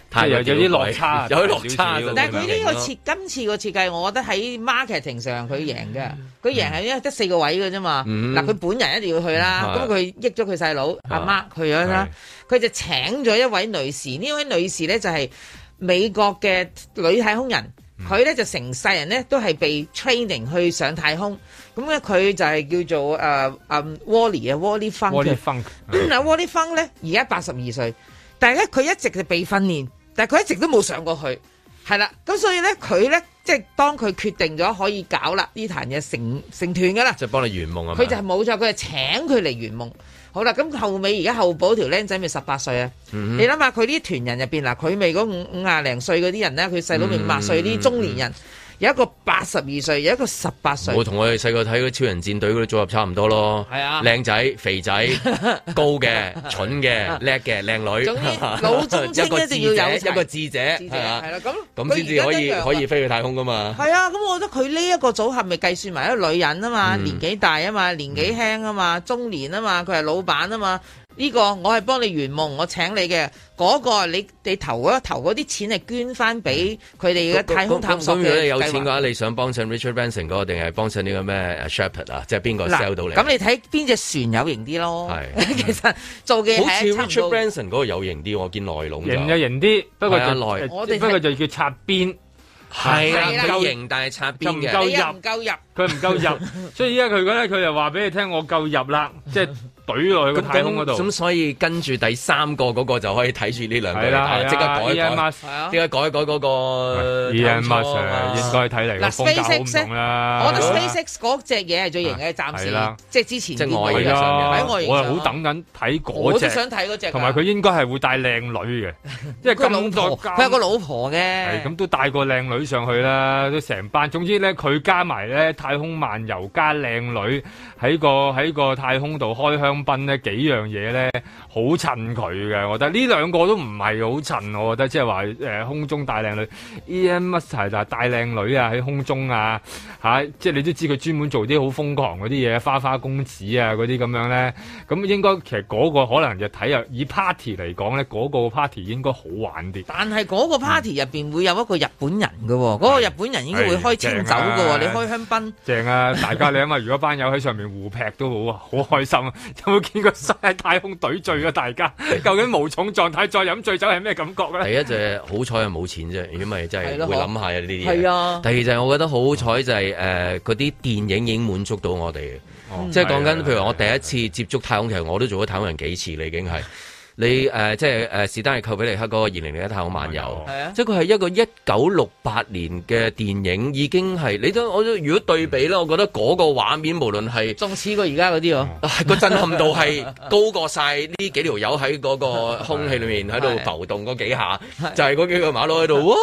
太有有啲落差， 有啲落差。 但係佢呢個設今次個設計，我覺得喺 marketing 上佢贏嘅。佢贏係因為得四個位嘅啫嘛。嗱，佢本人一定要去啦。咁佢益咗佢細佬阿媽去咗啦。佢就請咗一位女士，呢位女士咧就係美國嘅女太空人。佢咧就成世人咧都係被 training 去上太空。咁咧佢就係叫做誒誒 Wally 啊 Wally Funk。Wally Funk。嗱 Wally Funk 咧而家八十二歲，但係咧佢一直就被訓練。但係佢一直都冇上過去，係啦，咁所以咧佢咧即係當佢決定咗可以搞啦呢壇嘢成成團噶啦， 即係幫你圓夢啊！ 佢就係冇錯，佢係請佢嚟圓夢。好啦，咁後尾而家後補條僆仔咪十八歲啊！嗯、你諗下佢呢團人入邊嗱，佢咪嗰五五廿零歲嗰啲人咧，佢細佬咪五廿歲啲中年人。嗯有一個八十二歲，有一個十八歲。我同我哋細個睇嗰超人戰隊嗰啲組合差唔多咯。係啊，靚仔、肥仔、高嘅、蠢嘅、叻嘅、靚女。總之老中青一定要有一個智者，係啊， 係啦，咁咁先至可以可以飛去太空噶嘛。 係啊，咁我覺得佢呢一個組合咪計算埋一個女人啊嘛，嗯、年紀大啊嘛，年紀輕啊嘛，中年啊嘛，佢係老闆啊嘛。呢、這個我係幫你圓夢，我請你嘅嗰、那個你你投嗰投嗰啲錢係捐翻俾佢哋嘅太空探索嘅計劃。咁如果你有錢嘅話，你想幫襯 Richard Branson 嗰個定係幫襯呢個咩 Shepard 啊？即係邊個 sell 到你？咁你睇邊隻船有型啲咯？係其實做嘅好似 Richard Branson 嗰個有型啲，我見內籠型就型啲，不過就內我哋不過就叫擦邊。 係啦，夠型但係擦邊嘅， 夠入唔夠入， 佢唔夠入，所以依家佢咧佢就話俾你聽，我夠入啦，即係懟落去個太空嗰度。 咁所以跟住第三個嗰個就可以睇住呢兩個，即刻改一改，即刻改一改嗰個。 Elon Musk 應該睇嚟個風格好唔同啦。 我覺得 SpaceX 嗰隻嘢係最型嘅，暫時即係之前即係外形上面， 喺外形上。我係好等緊睇嗰隻， 我都想睇嗰隻。 同埋佢應該係會帶靚女嘅，因為咁多佢有個老婆嘅， 係咁都帶個靚女上去啦，都成班。總之咧，佢加埋咧太空漫遊加靚女喺個喺個太空度開香檳咧，幾樣嘢咧好襯佢嘅。我覺得呢兩個都唔係好襯，我覺得即係話誒空中帶靚女 Elon Musk 係就帶靚女啊喺空中啊嚇、啊，即係你都知佢專門做啲好瘋狂嗰啲嘢，花花公子啊嗰啲咁樣咧。咁應該其實嗰個可能就睇下以 party 嚟講咧，嗰、嗰個 party 應該好玩啲。 但係嗰個 party 入邊會有一個日本人嘅喎，嗰、嗯、個日本人應該會開清酒嘅喎，啊、你開香檳。正啊！ 大家你諗下，如果班友喺上面互劈都好好開心啊！有冇見過喺太空隊醉啊？大家究竟無重狀態再飲醉酒係咩感覺咧？ 第一就係好彩係冇錢啫，如果咪真係會諗下呢啲嘢。 係啊。 第二就係我覺得好彩就係誒嗰啲電影已經滿足到我哋，哦、即係講緊譬如我第一次接觸太空，其實我都做咗太空人幾次啦，已經係。你誒、呃、即係誒史丹利寇比尼克嗰個二零零一太空漫遊，啊、即係佢係一個一九六八年嘅電影，已經係你都我都如果對比咧，我覺得嗰個畫面無論係仲似過而家嗰啲喎， 個震撼度係高過晒呢幾條友喺嗰個空氣裏面喺度浮動嗰幾下，就係嗰幾個馬騮喺度，哇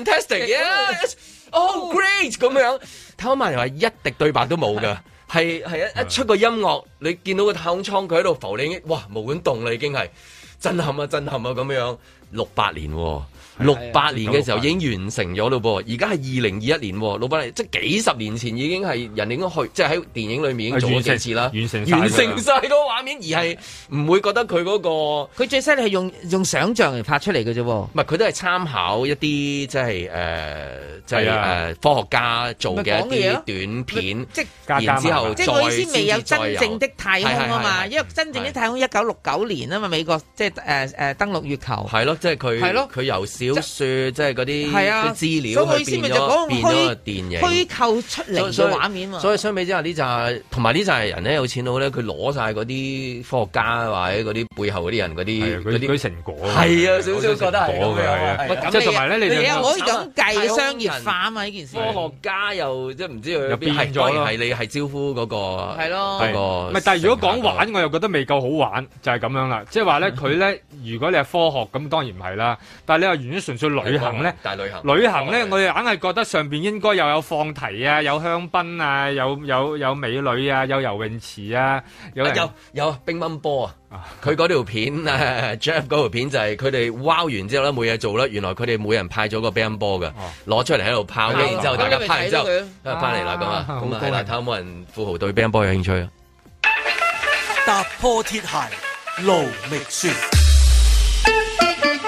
fantastic，yes，oh great 咁樣，太空漫遊係一滴對白都冇㗎。係係一一出個音樂，你見到個太空艙佢喺度浮，你已經哇冇管動啦，已經係震撼啊震撼啊咁樣。六八年、哦，六八年嘅時候已經完成咗咯噃，而家係二零二一年，六八年即係幾十年前已經係人哋應該去，即係喺電影裏面已經做咗幾次啦， 完成完成晒嗰個畫面，而係唔會覺得佢嗰、嗰個佢最犀利係用用想像嚟拍出嚟嘅啫，唔係佢都係參考一啲即係誒即係誒科學家做嘅一啲短片， 即係然之後即係我意思未有真正的太空啊嘛，因為真正的太空一九六九年啊嘛，美國即係誒誒登陸月球係咯。即係佢，佢由小說即係嗰啲資料去變咗變咗個電影， 虛構出嚟嘅畫面嘛。 所以相比之下，呢紮同埋呢紮人咧有錢佬咧，佢攞晒嗰啲科學家或者嗰啲背後嗰啲人嗰啲嗰啲成果。 係啊，少少覺得係咁樣。即係同埋咧，你哋可以咁計商業化啊嘛呢件事。 科學家又即係唔知佢又變咗咯。 係你係招呼嗰個係咯， 嗰個。 唔係，但係如果講玩，我又覺得未夠好玩，就係咁樣啦。即係話咧，佢咧，如果你係科學咁，當然唔係啦。但係你話完全純粹旅行咧， 大旅行， 旅行咧，我哋硬係覺得上邊應該又有放題啊，有香檳啊，有有有美女啊，有游泳池啊，有有有乒乓波啊！佢嗰條片啊 Jeff 嗰條片就係佢哋wow完之後咧冇嘢做啦，原來佢哋每人派咗個乒乓波嘅，攞出嚟喺度拋，然之後大家拍完之後翻嚟啦咁啊，咁啊係啦，睇下有冇人富豪對乒乓波有興趣啊！ 踏破鐵鞋路未雪。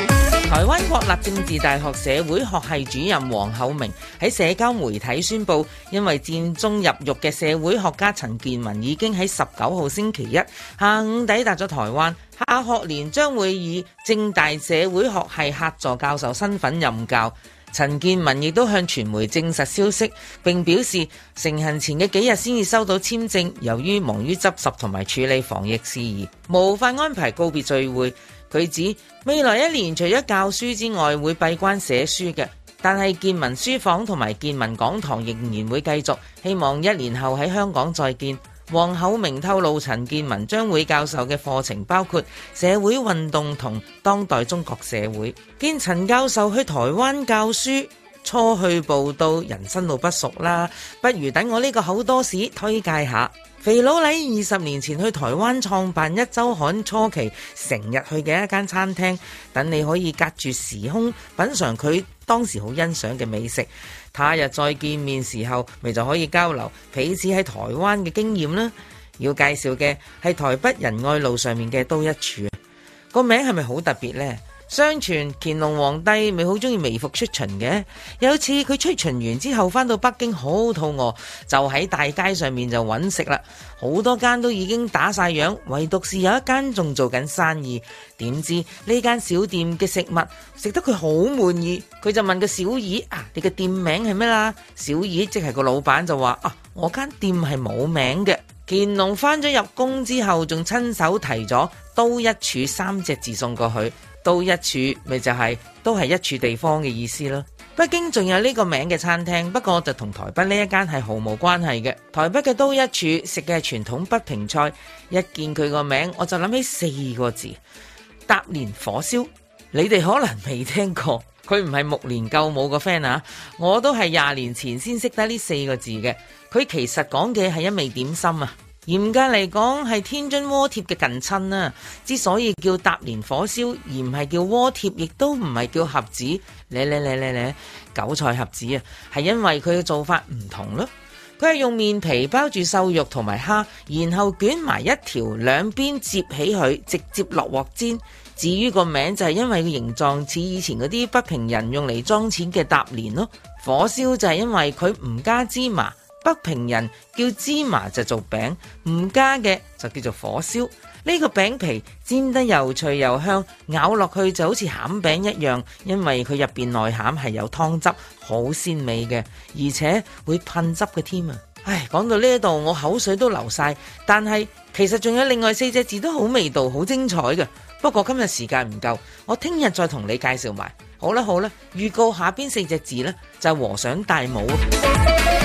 台灣國立政治大學社會學系主任黃厚明喺社交媒體宣布，因為戰中入獄嘅社會學家陳健民已經喺十九號星期一下午抵達咗台灣，下學年將會以政大社會學系客座教授身份任教。陳健民亦都向傳媒證實消息，並表示成行前嘅幾日先至收到簽證，由於忙於執拾同埋處理防疫事宜，無法安排告別聚會。佢指未來一年除咗教書之外，會閉關寫書嘅，但係健民書房同埋健民講堂仍然會繼續，希望一年後喺香港再見。黃厚明透露，陳健民將會教授嘅課程包括社會運動同當代中國社會。見陳教授去台灣教書，初去報到，人生路不熟啦，不如等我呢個口多士推介下。肥佬黎二十年前去台灣創辦一週刊初期成日去嘅一間餐廳，等你可以隔住時空品嘗佢當時好欣賞嘅美食。他日再見面時候，咪就可以交流彼此喺台灣嘅經驗啦。要介紹嘅係台北仁愛路上面嘅都一廚，個名係咪好特別呢？相傳乾隆皇帝咪好中意微服出巡嘅，有次佢出巡完之後返到北京好肚餓，就喺大街上面就揾食啦。好多間都已經打晒烊，唯獨是有一間仲做緊生意。點知呢間小店嘅食物食得佢好滿意，佢就問個小二啊，你嘅店名係咩啦？小二即係個老闆就話啊，我間店係冇名嘅。乾隆返咗入宮之後，仲親手提咗都一處三隻字送過去。都一處咪就係、是、都係一處地方嘅意思咯。北京仲有呢個名嘅餐廳，不過就同台北呢一間係毫無關係嘅。台北嘅都一處食嘅係傳統北平菜，一見佢個名我就諗起四個字：搭連火燒。你哋可能未聽過，佢唔係目連救母個 friend 啊，我都係廿年前先識得呢四個字嘅。佢其實講嘅係一味點心啊。嚴格嚟講係天津鍋貼嘅近親啊，之所以叫搭連火燒而唔係叫鍋貼，亦都唔係叫盒子，咧咧咧咧咧韭菜盒子啊，係因為佢嘅做法唔同咯。佢係用麵皮包住瘦肉同埋蝦，然後捲埋一條，兩邊接起佢，直接落鑊煎。至於個名就係因為個形狀似以前嗰啲北平人用嚟裝錢嘅搭連咯。火燒就係因為佢唔加芝麻。北平人叫芝麻就做餅，唔加嘅就叫做火燒。呢個餅皮煎得又脆又香，咬落去就好似餡餅一樣，因為佢入邊內餡係有湯汁，好鮮美嘅，而且會噴汁嘅添啊！唉，講到呢度我口水都流晒，但係其實仲有另外四隻字都好味道，好精彩嘅。不過今日時間唔夠，我聽日再同你介紹埋。好啦好啦，預告下邊四隻字呢，就係和尚戴帽。